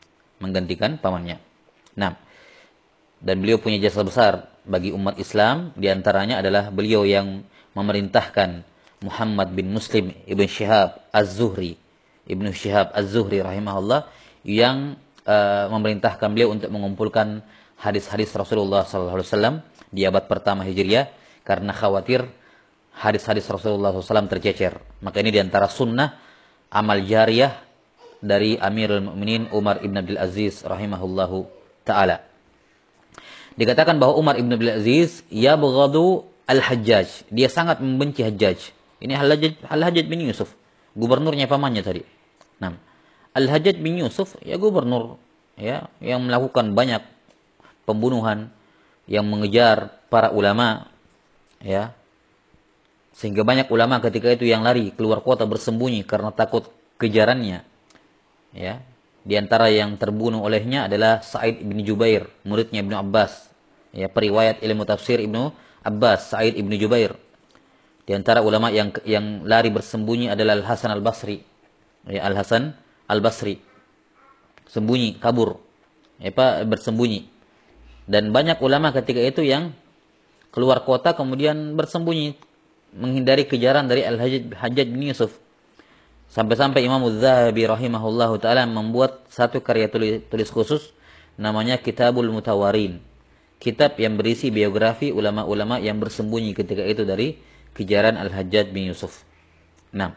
Nah, dan beliau punya jasa besar bagi umat Islam, diantaranya adalah beliau yang memerintahkan Muhammad bin Muslim ibn Shihab Az-Zuhri, rahimahullah, yang memerintahkan beliau untuk mengumpulkan hadis-hadis Rasulullah SAW di abad pertama Hijriah, karena khawatir hadis-hadis Rasulullah SAW tercecer. Maka ini diantara sunnah amal jariyah dari Amirul Mukminin Umar ibn Abdul Aziz rahimahullahu ta'ala. Dikatakan bahwa Umar ibn Abdul Aziz yabghadu al-Hajjaj, dia sangat membenci Hajjaj. Ini Al-Hajjaj bin Yusuf, gubernurnya pamannya tadi. Nah, Al-Hajjaj bin Yusuf ya gubernur, ya, yang melakukan banyak pembunuhan, yang mengejar para ulama, ya, sehingga banyak ulama ketika itu yang lari keluar kota bersembunyi karena takut kejarannya, ya. Di antara yang terbunuh olehnya adalah Sa'id bin Jubair, muridnya Ibnu Abbas, ya, periwayat ilmu tafsir Ibnu Abbas, Sa'id bin Jubair. Di antara ulama yang lari bersembunyi adalah Al-Hasan Al-Basri, ya, Al-Hasan Al-Basri, sembunyi, kabur, ya, bersembunyi. Dan banyak ulama ketika itu yang keluar kota kemudian bersembunyi menghindari kejaran dari Al-Hajjaj bin Yusuf. Sampai-sampai Imam Az-Zahabi rahimahullahu ta'ala membuat satu karya tulis khusus namanya Kitabul Mutawarin. Kitab yang berisi biografi ulama-ulama yang bersembunyi ketika itu dari kejaran Al-Hajjaj bin Yusuf. Nah,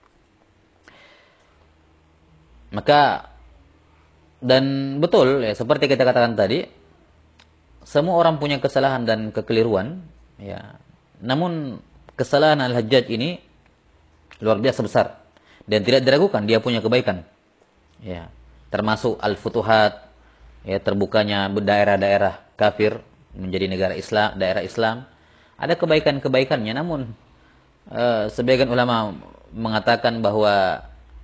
maka dan betul, ya, seperti kita katakan tadi, semua orang punya kesalahan dan kekeliruan, ya. Namun kesalahan Al-Hajjaj ini luar biasa besar dan tidak diragukan dia punya kebaikan, ya, termasuk Al-Futuhat, ya, terbukanya daerah-daerah kafir menjadi negara Islam, daerah Islam. Ada kebaikan-kebaikannya, namun sebagian ulama mengatakan bahwa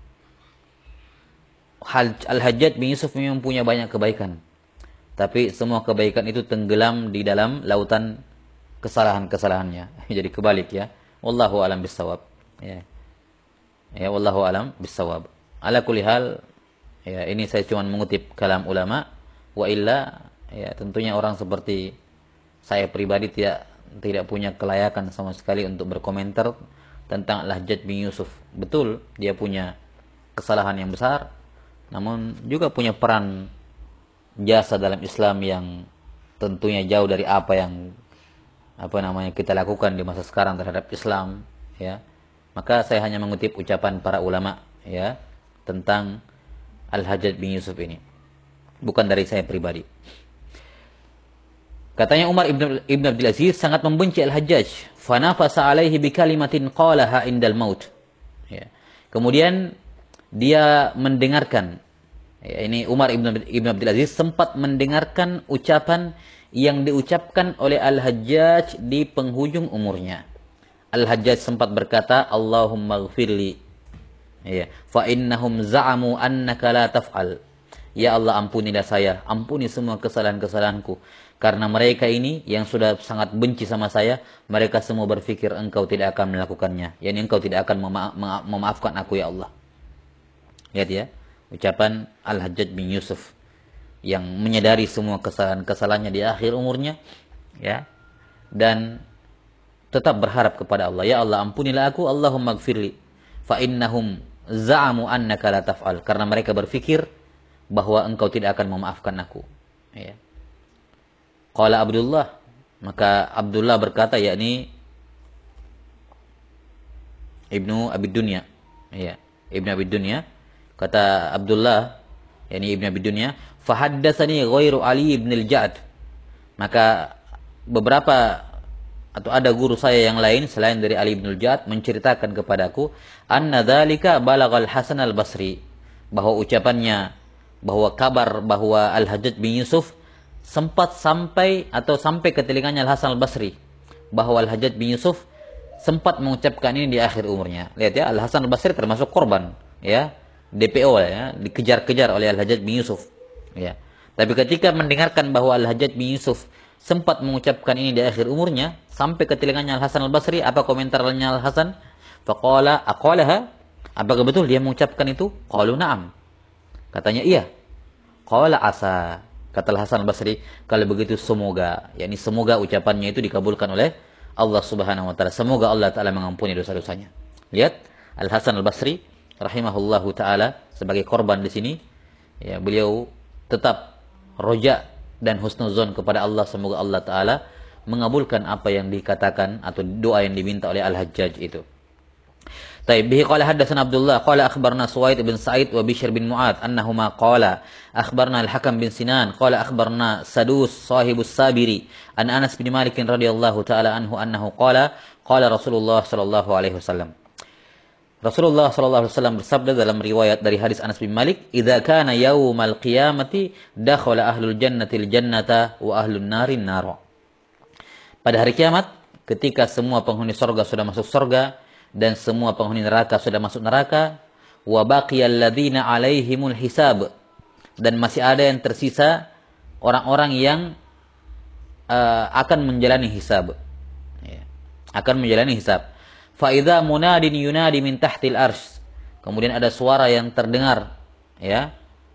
Al-Hajjaj bin Yusuf memang punya banyak kebaikan, tapi semua kebaikan itu tenggelam di dalam lautan kesalahan-kesalahannya. Jadi kebalik, ya. Wallahu alam bissawab. Ya. Ya, wallahu alam bissawab. Ala kulli hal, ya, ini saya cuma mengutip kalam ulama, wa illa, ya, tentunya orang seperti saya pribadi tidak punya kelayakan sama sekali untuk berkomentar tentang Al-Hajjaj bin Yusuf. Betul, dia punya kesalahan yang besar, namun juga punya peran jasa dalam Islam yang tentunya jauh dari apa yang kita lakukan di masa sekarang terhadap Islam, ya. Maka saya hanya mengutip ucapan para ulama, ya, tentang Al-Hajjaj bin Yusuf ini, bukan dari saya pribadi. Katanya Umar ibn Abdul Aziz sangat membenci Al-Hajjaj. Fanafasa alaihi bi kalimatin qalaha indal maut. Ya. Kemudian dia mendengarkan, ya, ini Umar ibn Abdul Aziz sempat mendengarkan ucapan yang diucapkan oleh Al-Hajjaj di penghujung umurnya. Al-Hajjaj sempat berkata, Allahumma ghfirli, ya, fa innahum za'amu annaka la taf'al. Ya Allah, ampunilah saya, ampuni semua kesalahan-kesalahanku. Karena mereka ini yang sudah sangat benci sama saya, mereka semua berpikir engkau tidak akan melakukannya. Yani engkau tidak akan memaafkan aku, ya Allah. Lihat ya, ucapan Al-Hajjaj bin Yusuf yang menyadari semua kesalahan-kesalahannya di akhir umurnya, ya, dan tetap berharap kepada Allah. Ya Allah, ampunilah aku, Allahumma gfirli, fa innahum za'amu annaka la taf'al. Karena mereka berpikir bahwa engkau tidak akan memaafkan aku. Ya. Qala Abdullah, maka Abdullah berkata, yakni Ibnu Abi Dunya, ya, Ibnu Abi Dunya, kata Abdullah, yakni Ibnu Abi Dunya, fahaddatsani ghairu Ali ibn al-Ja'd. Maka beberapa atau ada guru saya yang lain selain dari Ali bin al-Ja'd menceritakan kepadaku anna dzalika balagal Hasan al-Basri, bahwa ucapannya, bahwa kabar bahwa Al-Hajjaj bin Yusuf sempat sampai ke telinganya Al-Hasan al-Basri, bahwa Al-Hajjaj bin Yusuf sempat mengucapkan ini di akhir umurnya. Lihat ya, Al-Hasan al-Basri termasuk korban, ya, DPO, ya, dikejar-kejar oleh Al-Hajjaj bin Yusuf, ya. Tapi ketika mendengarkan bahwa Al-Hajjaj bin Yusuf sempat mengucapkan ini di akhir umurnya, sampai ke telinganya Al-Hasan al-Basri, apa komentarnya Al-Hasan? Faqala aqalaha, apakah betul dia mengucapkan itu? Qalu na'am. Katanya iya. Qala asa, kata Al-Hasan al-Basri, kalau begitu semoga, yakni semoga ucapannya itu dikabulkan oleh Allah Subhanahu wa taala. Semoga Allah taala mengampuni dosa-dosanya. Lihat Al-Hasan al-Basri rahimahullahu taala sebagai korban di sini, ya, beliau tetap roja dan husnuzon kepada Allah, semoga Allah taala mengabulkan apa yang dikatakan atau doa yang diminta oleh Al-Hajjaj itu. Taib bihi qala haddatsana Abdullah qala akhbarna Suwaid bin Sa'id wa Bishr bin Mu'ad annahuma qala akhbarna Al-Hakam bin Sinan qala akhbarna Sadus sahibus Sabiri an Anas bin Malik radhiyallahu taala anhu annahu qala qala Rasulullah sallallahu alaihi wasallam. Rasulullah sallallahu alaihi wasallam bersabda dalam riwayat dari hadis Anas bin Malik, "Idza kana yaumal qiyamati dakhala ahlul jannatil jannata wa ahlun narin nar." Pada hari kiamat, ketika semua penghuni surga sudah masuk surga dan semua penghuni neraka sudah masuk neraka, wa baqiyal ladzina alaihimul hisab, dan masih ada yang tersisa orang-orang yang akan menjalani hisab, ya, akan menjalani hisab. Fa idza munadin yunadi min tahtil arsy, kemudian ada suara yang terdengar, ya,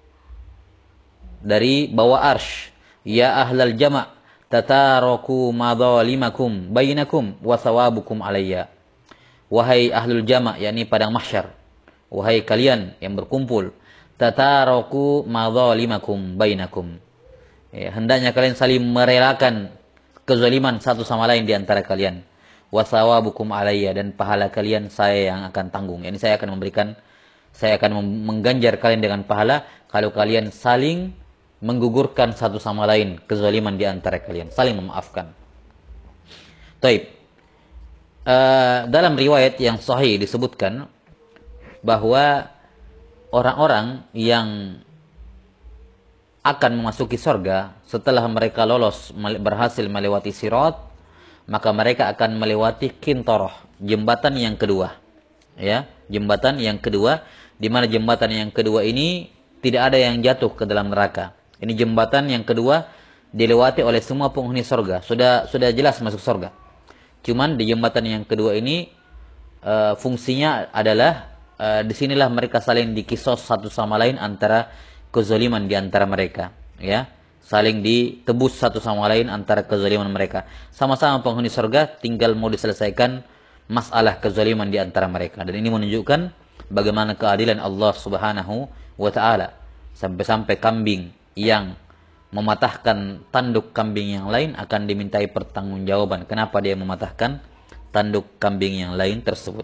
dari bawah arsy, ya ahlal jama' tataraku madzalimakum bainakum wa thawabukum alayya. Wahai ahlul jama', yakni padang mahsyar, wahai kalian yang berkumpul, tataraku madzalimakum bainakum, ya, hendaknya kalian saling merelakan kezaliman satu sama lain di antara kalian. Wa thawabukum alayya, dan pahala kalian saya yang akan tanggung. Yani saya akan mengganjar kalian dengan pahala kalau kalian saling menggugurkan satu sama lain kezaliman di antara kalian, saling memaafkan. Taib. Dalam riwayat yang sahih disebutkan bahwa orang-orang yang akan memasuki surga setelah mereka lolos, berhasil melewati sirat, maka mereka akan melewati qintarah, jembatan yang kedua, ya, jembatan yang kedua, di mana jembatan yang kedua ini tidak ada yang jatuh ke dalam neraka. Ini jembatan yang kedua dilewati oleh semua penghuni surga, sudah jelas masuk surga. Cuman di jembatan yang kedua ini fungsinya adalah disinilah mereka saling dikisos satu sama lain antara kezaliman di antara mereka, ya, saling ditebus satu sama lain antara kezaliman mereka. Sama-sama penghuni surga, tinggal mau diselesaikan masalah kezaliman di antara mereka. Dan ini menunjukkan bagaimana keadilan Allah Subhanahu wa taala, sampai-sampai kambing yang mematahkan tanduk kambing yang lain akan dimintai pertanggungjawaban. Kenapa dia mematahkan tanduk kambing yang lain tersebut?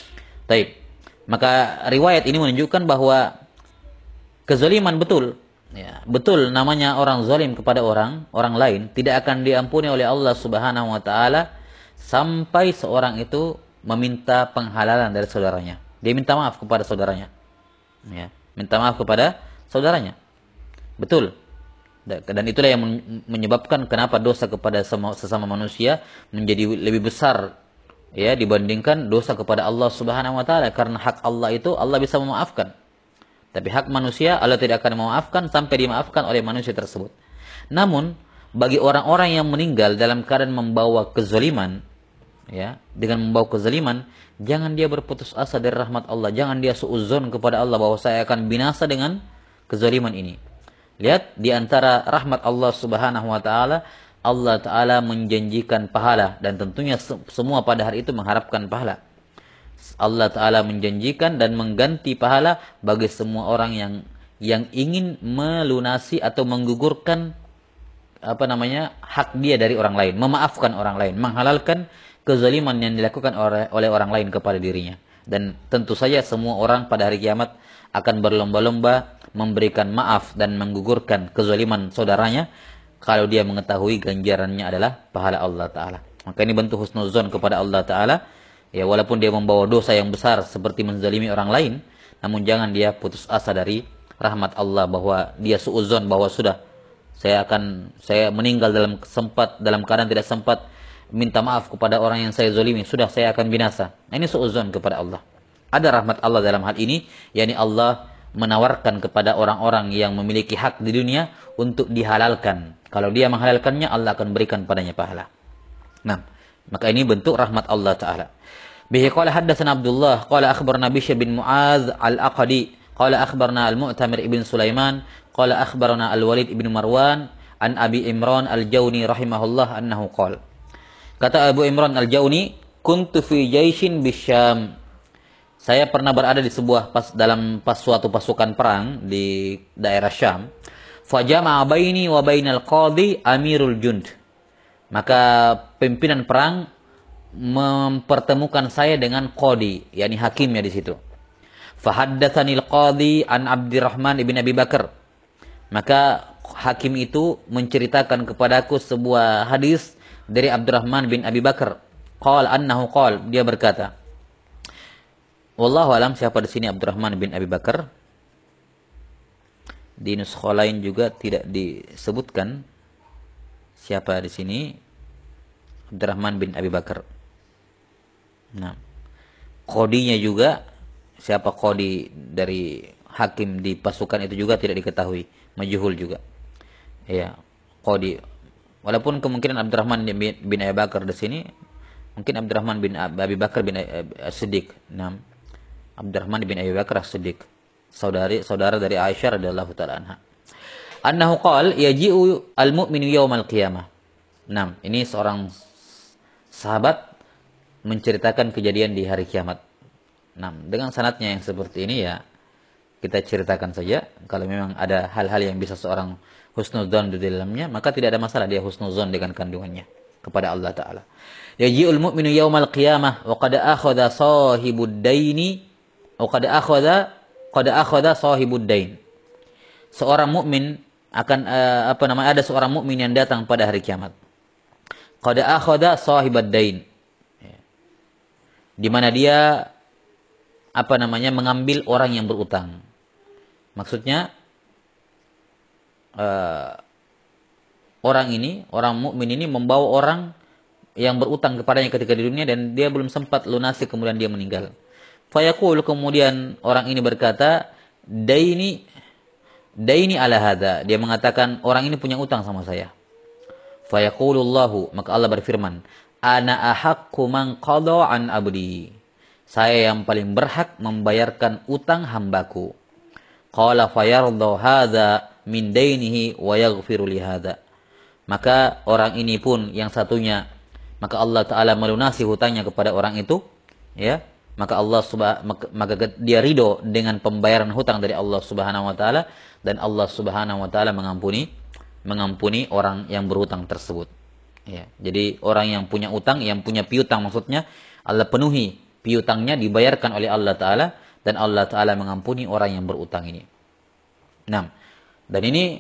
Taib. Maka riwayat ini menunjukkan bahwa kezaliman betul, Ya, betul namanya orang zalim kepada orang lain tidak akan diampuni oleh Allah Subhanahu wa taala sampai seorang itu meminta penghalalan dari saudaranya. Dia minta maaf kepada saudaranya. Ya, minta maaf kepada saudaranya. Betul. Dan itulah yang menyebabkan kenapa dosa kepada sesama manusia menjadi lebih besar ya dibandingkan dosa kepada Allah Subhanahu wa taala, karena hak Allah itu Allah bisa memaafkan. Tapi hak manusia Allah tidak akan memaafkan sampai dimaafkan oleh manusia tersebut. Namun bagi orang-orang yang meninggal dalam keadaan membawa kezaliman, ya, dengan membawa kezaliman, jangan dia berputus asa dari rahmat Allah, jangan dia suudzon kepada Allah bahwa saya akan binasa dengan kezaliman ini. Lihat di antara rahmat Allah Subhanahu wa taala, Allah taala menjanjikan pahala dan tentunya semua pada hari itu mengharapkan pahala. Allah taala menjanjikan dan mengganti pahala bagi semua orang yang ingin melunasi atau menggugurkan hak dia dari orang lain, memaafkan orang lain, menghalalkan kezaliman yang dilakukan oleh orang lain kepada dirinya. Dan tentu saja semua orang pada hari kiamat akan berlomba-lomba memberikan maaf dan menggugurkan kezaliman saudaranya kalau dia mengetahui ganjarannya adalah pahala Allah taala. Maka ini bentuk husnuzon kepada Allah taala. Ya, walaupun dia membawa dosa yang besar seperti menzalimi orang lain, namun jangan dia putus asa dari rahmat Allah bahwa dia suudzon bahwa sudah saya meninggal dalam keadaan tidak sempat minta maaf kepada orang yang saya zalimi, sudah saya akan binasa. Nah, ini suudzon kepada Allah. Ada rahmat Allah dalam hal ini, yakni Allah menawarkan kepada orang-orang yang memiliki hak di dunia untuk dihalalkan. Kalau dia menghalalkannya, Allah akan berikan padanya pahala. Nah, maka ini bentuk rahmat Allah taala. Bihi qala haddatsana Abdullah qala akhbarana Bishr bin Muadz al-Aqdi qala akhbarana al-Mu'tamir ibn Sulaiman qala akhbarana al-Walid ibn Marwan an Abi Imran al-Jauni rahimahullah annahu qala. Kata Abu Imran al-Jauni, kuntu fi jaishin bisyam. Saya pernah berada di dalam suatu pasukan perang di daerah Syam. Fajama'a baini wa bainal qadhi amirul jund. Maka pimpinan perang mempertemukan saya dengan qadi, yakni hakimnya di situ. Fahaddatsanil qadi an Abdurrahman ibn Abi Bakar. Maka hakim itu menceritakan kepadaku sebuah hadis dari Abdurrahman bin Abi Bakar. Dia berkata, wallahu alam siapa di sini Abdurrahman bin Abi Bakar. Di nuskha lain juga tidak disebutkan siapa di sini Abdurrahman bin Abi Bakar. Nah, qadinya juga siapa qadi dari hakim di pasukan itu juga tidak diketahui, majhul juga. Ya, qadi. Walaupun kemungkinan Abdurrahman bin Abi Bakar di sini mungkin Abdurrahman bin Abi Bakar bin As-Siddiq. Nah, Abdurrahman bin Abi Bakar As-Siddiq, saudara dari Aisyah radhiyallahu taala anha. Annahu qala yaji'u al-mu'minu yaumal qiyamah. Nah, ini seorang sahabat menceritakan kejadian di hari kiamat. Nah, dengan sanadnya yang seperti ini ya kita ceritakan saja. Kalau memang ada hal-hal yang bisa seorang husnudzon di dalamnya, maka tidak ada masalah dia husnudzon dengan kandungannya kepada Allah taala. Yaji'ul mu'minu yaumal qiyamah wa qad akhadha sahibud daini wa qad akhadha sahibud dain. Seorang mukmin akan ada seorang mukmin yang datang pada hari kiamat. Qad akhadha sahibad dain. Di mana dia mengambil orang yang berutang. Maksudnya orang mukmin ini membawa orang yang berutang kepadanya ketika di dunia dan dia belum sempat lunasi, kemudian dia meninggal. Fayaqul, kemudian orang ini berkata, daini ala hadza. Dia mengatakan orang ini punya utang sama saya. Fayaqulullahu, maka Allah berfirman, ana ahaqqu man qada an abdi. Saya yang paling berhak membayarkan utang hambaku. Qala fayarda hadza min dainihi wa yaghfiru li hadza. Maka orang ini pun yang satunya, maka Allah taala melunasi hutangnya kepada orang itu, ya. Maka dia ridho dengan pembayaran hutang dari Allah Subhanahu wa taala, dan Allah Subhanahu wa taala mengampuni orang yang berhutang tersebut. Ya, jadi orang yang punya utang, yang punya piutang maksudnya, Allah penuhi piutangnya, dibayarkan oleh Allah taala, dan Allah taala mengampuni orang yang berutang ini. Nah, Dan ini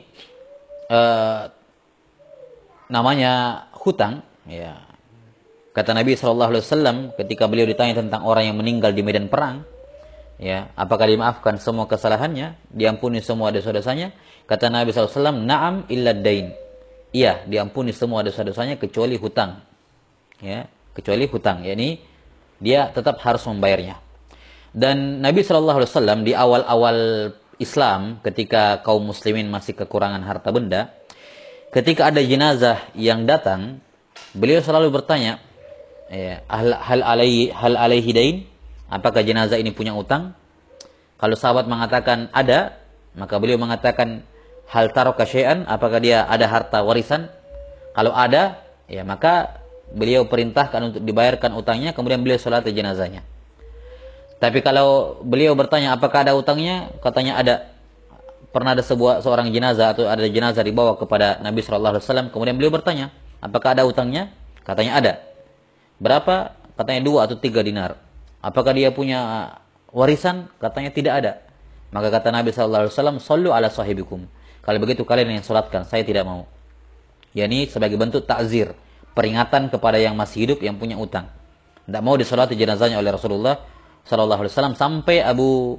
namanya hutang, ya. Kata Nabi SAW ketika beliau ditanya tentang orang yang meninggal di medan perang, ya, apakah dimaafkan semua kesalahannya, diampuni semua dosa-dosanya? Kata Nabi SAW, na'am illa dain. Iya, diampuni semua dosa-dosanya kecuali hutang. Ya, kecuali hutang, yakni dia tetap harus membayarnya. Dan Nabi SAW di awal-awal Islam, ketika kaum muslimin masih kekurangan harta benda, ketika ada jenazah yang datang, beliau selalu bertanya, ya, hal alaihi dain? Apakah jenazah ini punya utang? Kalau sahabat mengatakan ada, maka beliau mengatakan hal taraka syai'an? Apakah dia ada harta warisan? Kalau ada, ya maka beliau perintahkan untuk dibayarkan utangnya, kemudian beliau salat jenazahnya. Tapi kalau beliau bertanya apakah ada utangnya, katanya ada. Pernah ada seorang jenazah atau ada jenazah dibawa kepada Nabi SAW, kemudian beliau bertanya, apakah ada utangnya? Katanya ada. Berapa? Katanya 2 atau 3 dinar. Apakah dia punya warisan? Katanya tidak ada. Maka kata Nabi SAW, sallu ala sahibikum. Kalau begitu kalian yang salatkan, saya tidak mau. Yani sebagai bentuk takzir, peringatan kepada yang masih hidup yang punya utang. Tidak mau disolati jenazahnya oleh Rasulullah SAW sampai Abu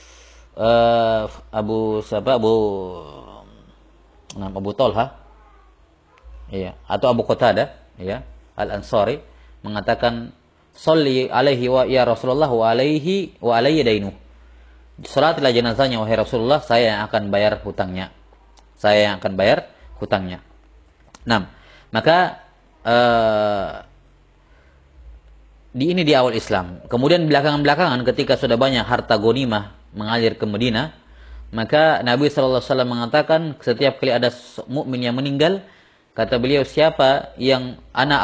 Talha, ya, atau Abu Qatadah, ya, Al-Ansari mengatakan, "Sholli alaihi wa ya Rasulullah wa alaihi wa alayya dainu." Salatilah jenazahnya wahai Rasulullah, saya yang akan bayar hutangnya. Saya yang akan bayar hutangnya. Nah, maka ini di awal Islam. Kemudian belakangan ketika sudah banyak harta ghanimah mengalir ke Madinah, maka Nabi SAW mengatakan setiap kali ada mukmin yang meninggal, kata beliau, siapa yang ana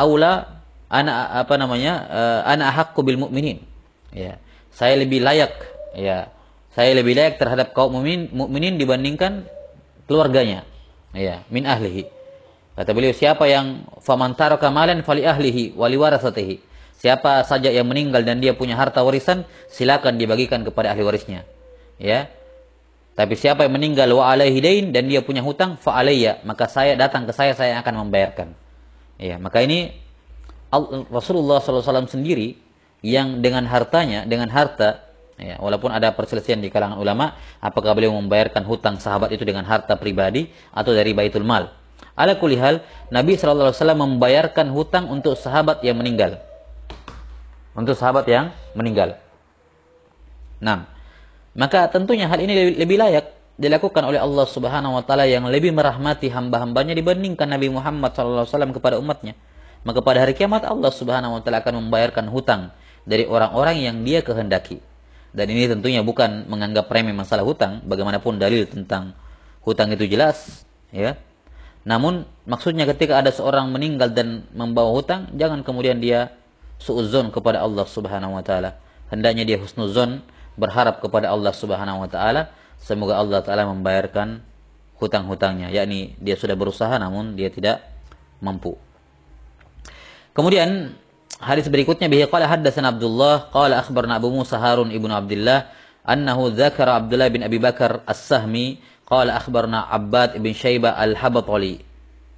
haqqu bil mu'minin. Ya, saya lebih layak, ya. Saya lebih layak terhadap kaum mukminin dibandingkan keluarganya. Ya, min ahlihi. Kata beliau, siapa yang faman taraka malan fali ahlihi wa liwarasatihi. Siapa saja yang meninggal dan dia punya harta warisan, silakan dibagikan kepada ahli warisnya. Ya. Tapi siapa yang meninggal wa alaihi dain dan dia punya hutang, fa alayya, maka saya datang ke saya akan membayarkan. Ya, maka ini Rasulullah SAW sendiri yang dengan harta, ya, walaupun ada perselisihan di kalangan ulama, apakah beliau membayarkan hutang sahabat itu dengan harta pribadi atau dari baitul mal. Ala kulli hal, Nabi SAW membayarkan hutang untuk sahabat yang meninggal. Untuk sahabat yang meninggal. Nah, maka tentunya hal ini lebih layak dilakukan oleh Allah Subhanahu wa taala yang lebih merahmati hamba-hambanya dibandingkan Nabi Muhammad SAW kepada umatnya. Maka pada hari kiamat Allah Subhanahu wa taala akan membayarkan hutang dari orang-orang yang dia kehendaki. Dan ini tentunya bukan menganggap remeh masalah hutang, bagaimanapun dalil tentang hutang itu jelas, ya. Namun maksudnya ketika ada seorang meninggal dan membawa hutang, jangan kemudian dia suudzon kepada Allah Subhanahu wa taala. Hendaknya dia husnuzon, berharap kepada Allah Subhanahu wa taala semoga Allah taala membayarkan hutang-hutangnya, yakni dia sudah berusaha namun dia tidak mampu. Kemudian hadis berikutnya, bihi qala haddatsana Abdullah qala akhbarna Abu Musa Harun ibnu Abdullah annahu dzakara Abdullah bin Abi Bakar As-Sahmi qala akhbarna Abbad ibn Syaibah Al-Habatali.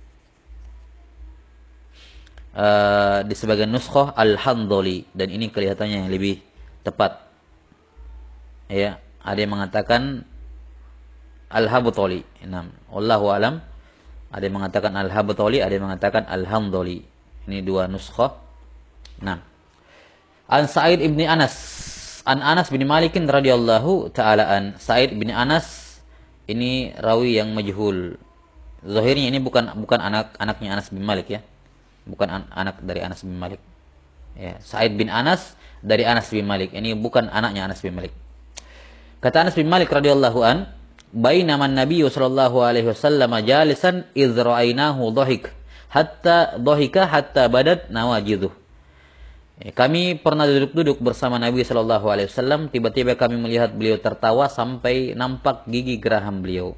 Di sebagian nuskhah Al-Handhali, dan ini kelihatannya yang lebih tepat. Ya, ada yang mengatakan Al-Habatali. Wallahu alam. Ada yang mengatakan Al-Habatali, ada yang mengatakan Al-Handhali. Ini dua nuskhah. Nah, An Sa'id ibn Anas, An Anas bin Malik radhiyallahu taala an. Sa'id bin Anas ini rawi yang majhul. Zahirnya ini bukan anaknya Anas bin Malik, ya. Bukan anak dari Anas bin Malik. Ya, Sa'id bin Anas dari Anas bin Malik. Ini bukan anaknya Anas bin Malik. Kata Anas bin Malik radhiyallahu an, bainama an-nabiy sallallahu alaihi wasallam jalisan idz ra'ainahu dhahika hatta badat nawajiduh. Kami pernah duduk bersama Nabi sallallahu alaihi wasallam, tiba-tiba kami melihat beliau tertawa sampai nampak gigi geraham beliau.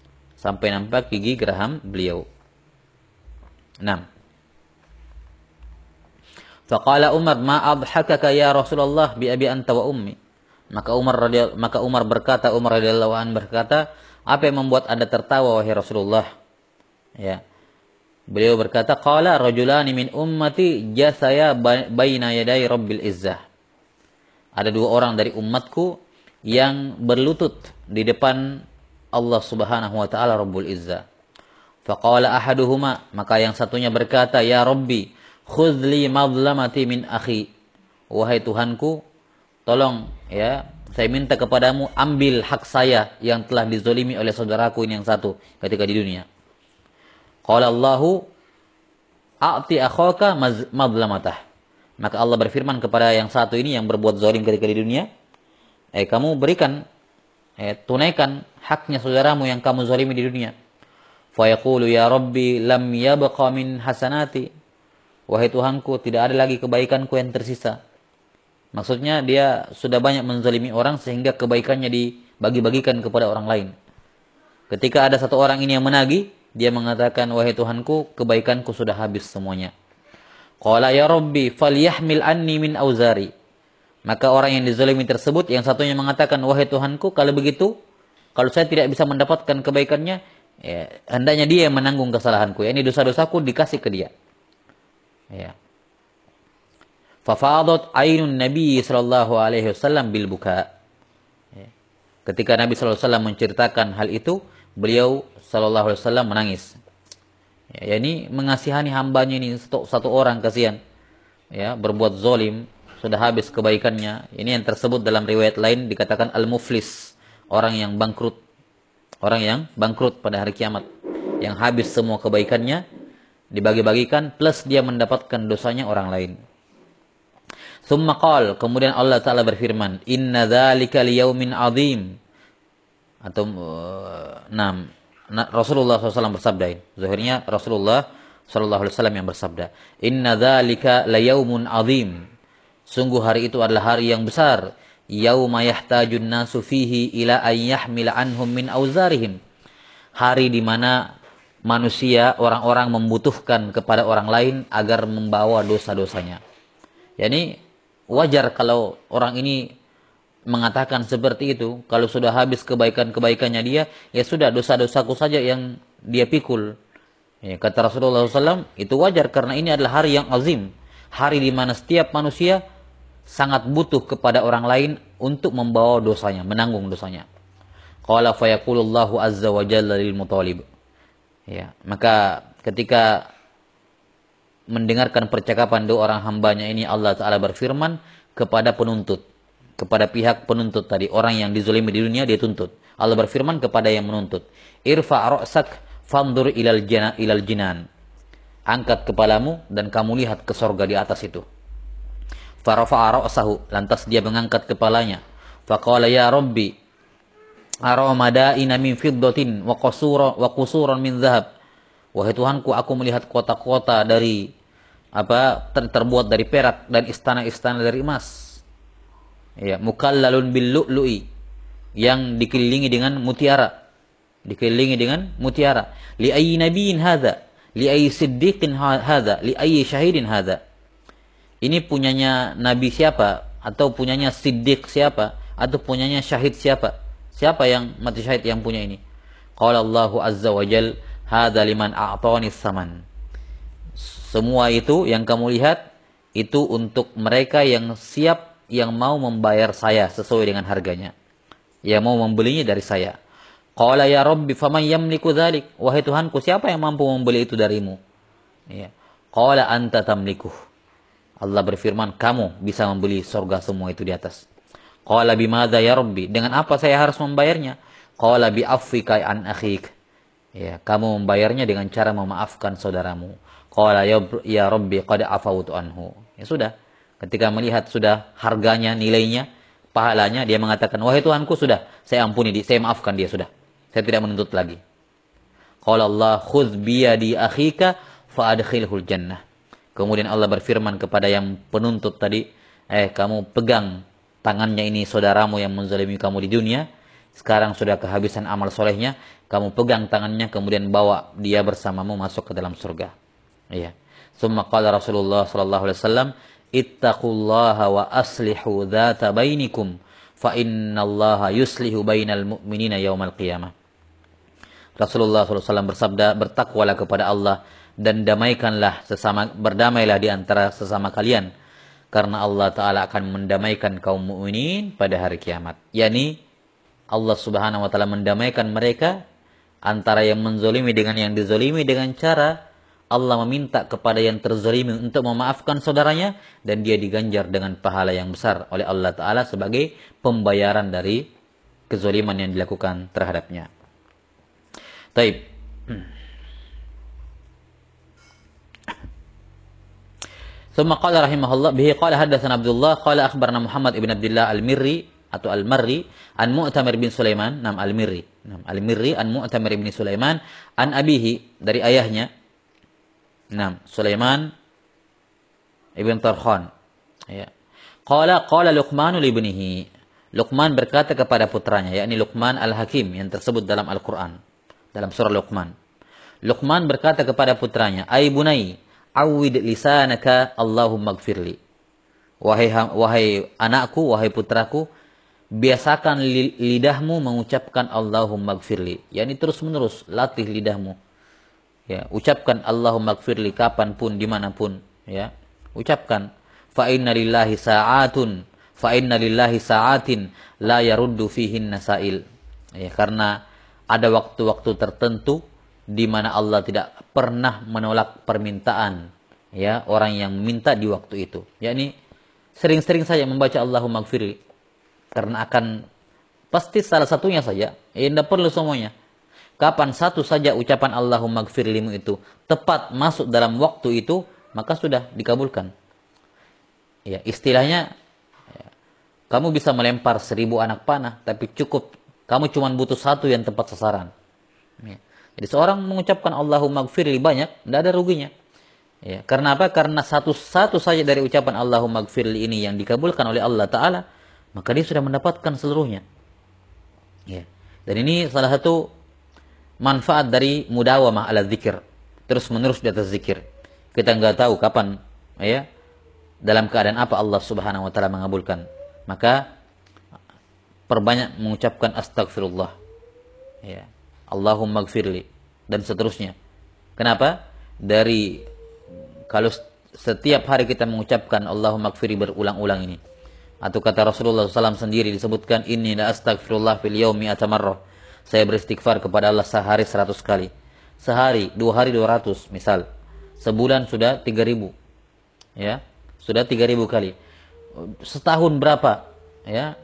Nah, faqala Umar ma adhakaka ya Rasulullah bi abi anta wa ummi. Maka Umar radhiyallahu anhu berkata, Apa yang membuat Anda tertawa wahai Rasulullah? Ya. Beliau berkata, qala rajulani min ummati jasaya baina yaday rabbil izzah. Ada dua orang dari umatku yang berlutut di depan Allah Subhanahu wa taala Rabbul Izzah. Faqala ahaduhuma, maka yang satunya berkata, ya Rabbi, khudh li madlamati min akhi. Wahai Tuhanku, tolong ya, saya minta kepadamu ambil hak saya yang telah dizolimi oleh saudaraku ini yang satu ketika di dunia. Qala Allahu a'ti akhaka madlamatah. Maka Allah berfirman kepada yang satu ini yang berbuat zalim ketika di dunia, kamu berikan, tunaikan haknya saudaramu yang kamu zalimi di dunia. Fa yaqulu ya Rabbi lam yabqa min hasanati. Wahai Tuhanku, tidak ada lagi kebaikanku yang tersisa. Maksudnya dia sudah banyak menzalimi orang sehingga kebaikannya dibagi-bagikan kepada orang lain. Ketika ada satu orang ini yang menagih, dia mengatakan, wahai Tuhanku, kebaikanku sudah habis semuanya. Qala ya Rabbi falyahmil anni min auzari. Maka orang yang dizalimi tersebut, yang satunya mengatakan, wahai Tuhanku, kalau begitu, kalau saya tidak bisa mendapatkan kebaikannya, ya, hendaknya dia yang menanggung kesalahanku. Ya, ini dosa-dosaku dikasih ke dia. Ya. Fafadat ainun Nabi sallallahu alaihi wasallam bil buka. Ya. Ketika Nabi sallallahu alaihi wasallam menceritakan hal itu, beliau sallallahu alaihi wasallam menangis. Ya, ini mengasihani hambanya ini satu orang kasihan. Ya, berbuat zalim, sudah habis kebaikannya. Ini yang tersebut dalam riwayat lain dikatakan al-muflis, orang yang bangkrut. Orang yang bangkrut pada hari kiamat, yang habis semua kebaikannya dibagi-bagikan plus dia mendapatkan dosanya orang lain. Tsumma qala, kemudian Allah Taala berfirman, inna dzalika liyaumin azim. Atau Rasulullah SAW bersabda ini. Zahirnya Rasulullah SAW yang bersabda, inna dzalika layaumun azim. Sungguh hari itu adalah hari yang besar. Yauma yahtajun nasu fihi ila an yahmila anhum min auzarihim. Hari di mana manusia, orang-orang membutuhkan kepada orang lain agar membawa dosa-dosanya. Yani wajar kalau orang ini mengatakan seperti itu. Kalau sudah habis kebaikan-kebaikannya dia, ya sudah dosa-dosaku saja yang dia pikul. Ya, kata Rasulullah SAW, itu wajar karena ini adalah hari yang azim. Hari di mana setiap manusia sangat butuh kepada orang lain untuk membawa dosanya, menanggung dosanya. Qala fa yaqulullahu azza wa jalla lil mutalib. Ya, maka ketika mendengarkan percakapan dua orang hambanya ini, Allah Ta'ala berfirman kepada penuntut, kepada pihak penuntut tadi, orang yang dizalimi di dunia dia tuntut. Allah berfirman kepada yang menuntut, irfa' ra'sak fandur ilal jinan. Angkat kepalamu dan kamu lihat ke surga di atas itu. Farafa'a ra'sahu, lantas dia mengangkat kepalanya. Faqala ya Rabbi ara madaina min fiddatin wa qusuran min dhahab. Wahai Tuhanku, aku melihat kota-kota dari terbuat dari perak dan istana-istana dari emas. Ya, mukallalun bil lu'lu'i, yang dikelilingi dengan mutiara. Dikelilingi dengan mutiara. Li ayyi nabiyyin hadza? Li ayyi siddiqin hadza? Li ayyi syahidin hadza? Ini punyanya nabi siapa? Atau punyanya siddiq siapa? Atau punyanya syahid siapa? Siapa yang mati syahid yang punya ini? Qala Allahu azza wa jal, hadza liman a'tani saman. Semua itu yang kamu lihat itu untuk mereka yang siap, yang mau membayar saya sesuai dengan harganya, yang mau membelinya dari saya. Qala ya Rabbi faman yamliku dzalik? Wahai Tuhanku, siapa yang mampu membeli itu darimu? Ya. Qala anta tamlikuh. Allah berfirman, kamu bisa membeli surga semua itu di atas. Qala bimadza ya Rabbi? Dengan apa saya harus membayarnya? Qala bi affika an akhik. Ya, kamu membayarnya dengan cara memaafkan saudaramu. Qala ya Rabbi qad afawtu anhu. Ya sudah. Ketika melihat sudah harganya, nilainya, pahalanya, dia mengatakan, wahai Tuhanku, sudah, saya ampuni dia, saya maafkan dia, sudah. Saya tidak menuntut lagi. Qala Allah khudz biyadi akhika fa adkhilhul jannah. Kemudian Allah berfirman kepada yang penuntut tadi, kamu pegang tangannya ini saudaramu yang menzalimi kamu di dunia, sekarang sudah kehabisan amal solehnya, kamu pegang tangannya kemudian bawa dia bersamamu masuk ke dalam surga. Iya. Summa qala Rasulullah sallallahu alaihi wasallam, ittaqullaha wa aslihu dzata bainikum fa innallaha yuslihu bainal mu'minina yaumal qiyamah. Rasulullah SAW bersabda, bertakwalah kepada Allah dan berdamailah di antara sesama kalian, karena Allah Ta'ala akan mendamaikan kaum mukminin pada hari kiamat. Yani Allah Subhanahu Wa Ta'ala mendamaikan mereka antara yang menzolimi dengan yang dizolimi dengan cara Allah meminta kepada yang terzolimi untuk memaafkan saudaranya, dan dia diganjar dengan pahala yang besar oleh Allah Ta'ala sebagai pembayaran dari kezoliman yang dilakukan terhadapnya. Taib. ثم قال رحمه الله به قال حدثنا عبد الله قال أخبرنا محمد بن عبد الله المري atau Al-Marri an Mu'tamir bin Sulaiman, Al-Mirri an Mu'tamir bin Sulaiman an abihi, dari ayahnya, Sulaiman ibn Tarkhan, ya. Qala Luqman li ibnihi, Luqman berkata kepada putranya, yakni Luqman Al-Hakim yang tersebut dalam Al-Qur'an dalam surah Luqman. Luqman berkata kepada putranya, "Ai bunai, awwid lisanaka Allahumma ighfirli." Wahai anakku, wahai putraku, biasakan lidahmu mengucapkan Allahumma ighfirli. Yani terus-menerus latih lidahmu. Ya, ucapkan Allahumma ighfirli kapanpun, dimanapun, ya. Ucapkan. Fa inna lillahi sa'atin la yaruddu fihin nasail. Ya, karena ada waktu-waktu tertentu di mana Allah tidak pernah menolak permintaan, ya, orang yang minta di waktu itu. Yakni sering-sering saja membaca Allahumma ighfirli, karena akan pasti salah satunya saja, tidak perlu semuanya. Kapan satu saja ucapan Allahumma ighfirlimu itu tepat masuk dalam waktu itu, maka sudah dikabulkan. Ya, istilahnya, ya, kamu bisa melempar 1000 anak panah, tapi cukup kamu cuma butuh satu yang tepat sasaran. Ya. Jadi seorang mengucapkan Allahumma ighfirli banyak, tidak ada ruginya. Ya, karena apa? Karena satu saja dari ucapan Allahumma ighfirli ini yang dikabulkan oleh Allah Ta'ala, maka dia sudah mendapatkan seluruhnya. Ya. Dan ini salah satu manfaat dari mudawamah ala zikir, terus menerus di atas zikir. Kita nggak tahu kapan, ya, dalam keadaan apa Allah Subhanahu Wa Ta'ala mengabulkan. Maka perbanyak mengucapkan astagfirullah, ya, Allahumma ighfirli, dan seterusnya. Kenapa? Kalau setiap hari kita mengucapkan Allahumma ighfirli berulang-ulang ini, atau kata Rasulullah SAW sendiri disebutkan, inni la astaghfirullah fil yaumi atamarrah, saya beristighfar kepada Allah sehari 100 kali. Sehari, 2 hari 200 misal. Sebulan sudah 3000. Ya, sudah 3000 kali. Setahun berapa? Ya,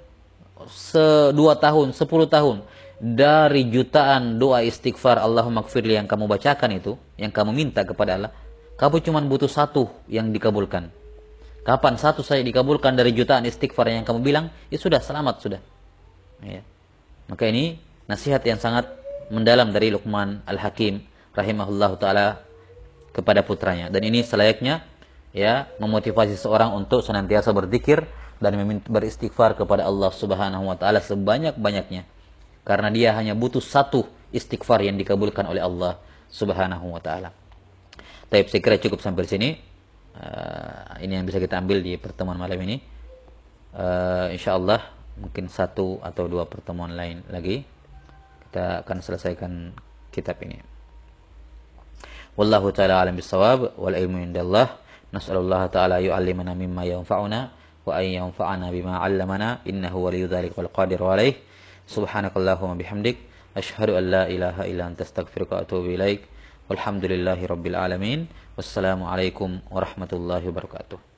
2 tahun, 10 tahun. Dari jutaan doa istighfar Allahumma ighfirli yang kamu bacakan itu, yang kamu minta kepada Allah, kamu cuma butuh satu yang dikabulkan. Kapan satu saja dikabulkan dari jutaan istighfar yang kamu bilang, ya sudah, selamat sudah. Ya. Maka ini nasihat yang sangat mendalam dari Luqman Al-Hakim rahimahullahu taala kepada putranya, dan ini selayaknya, ya, memotivasi seorang untuk senantiasa berzikir dan beristighfar kepada Allah Subhanahu wa taala sebanyak-banyaknya, karena dia hanya butuh satu istighfar yang dikabulkan oleh Allah Subhanahu wa taala. Baik, saya kira cukup sampai sini. Ini yang bisa kita ambil di pertemuan malam ini. Insyaallah mungkin 1 atau 2 pertemuan lain lagi kita akan selesaikan kitab ini. Wallahu taala alam bisawab, wal ilmu indallah. Nas'alullah taala yu'allimana mimma yanfa'una wa an yanfa'ana bima 'allamana, innahu waliyyu dzalika wal qadiru alaih. Subhanakallahumma bihamdik asyhadu an la ilaha illa anta astaghfiruka wa atubu ilaik. Walhamdulillahi rabbil alamin. Wassalamu alaikum warahmatullahi wabarakatuh.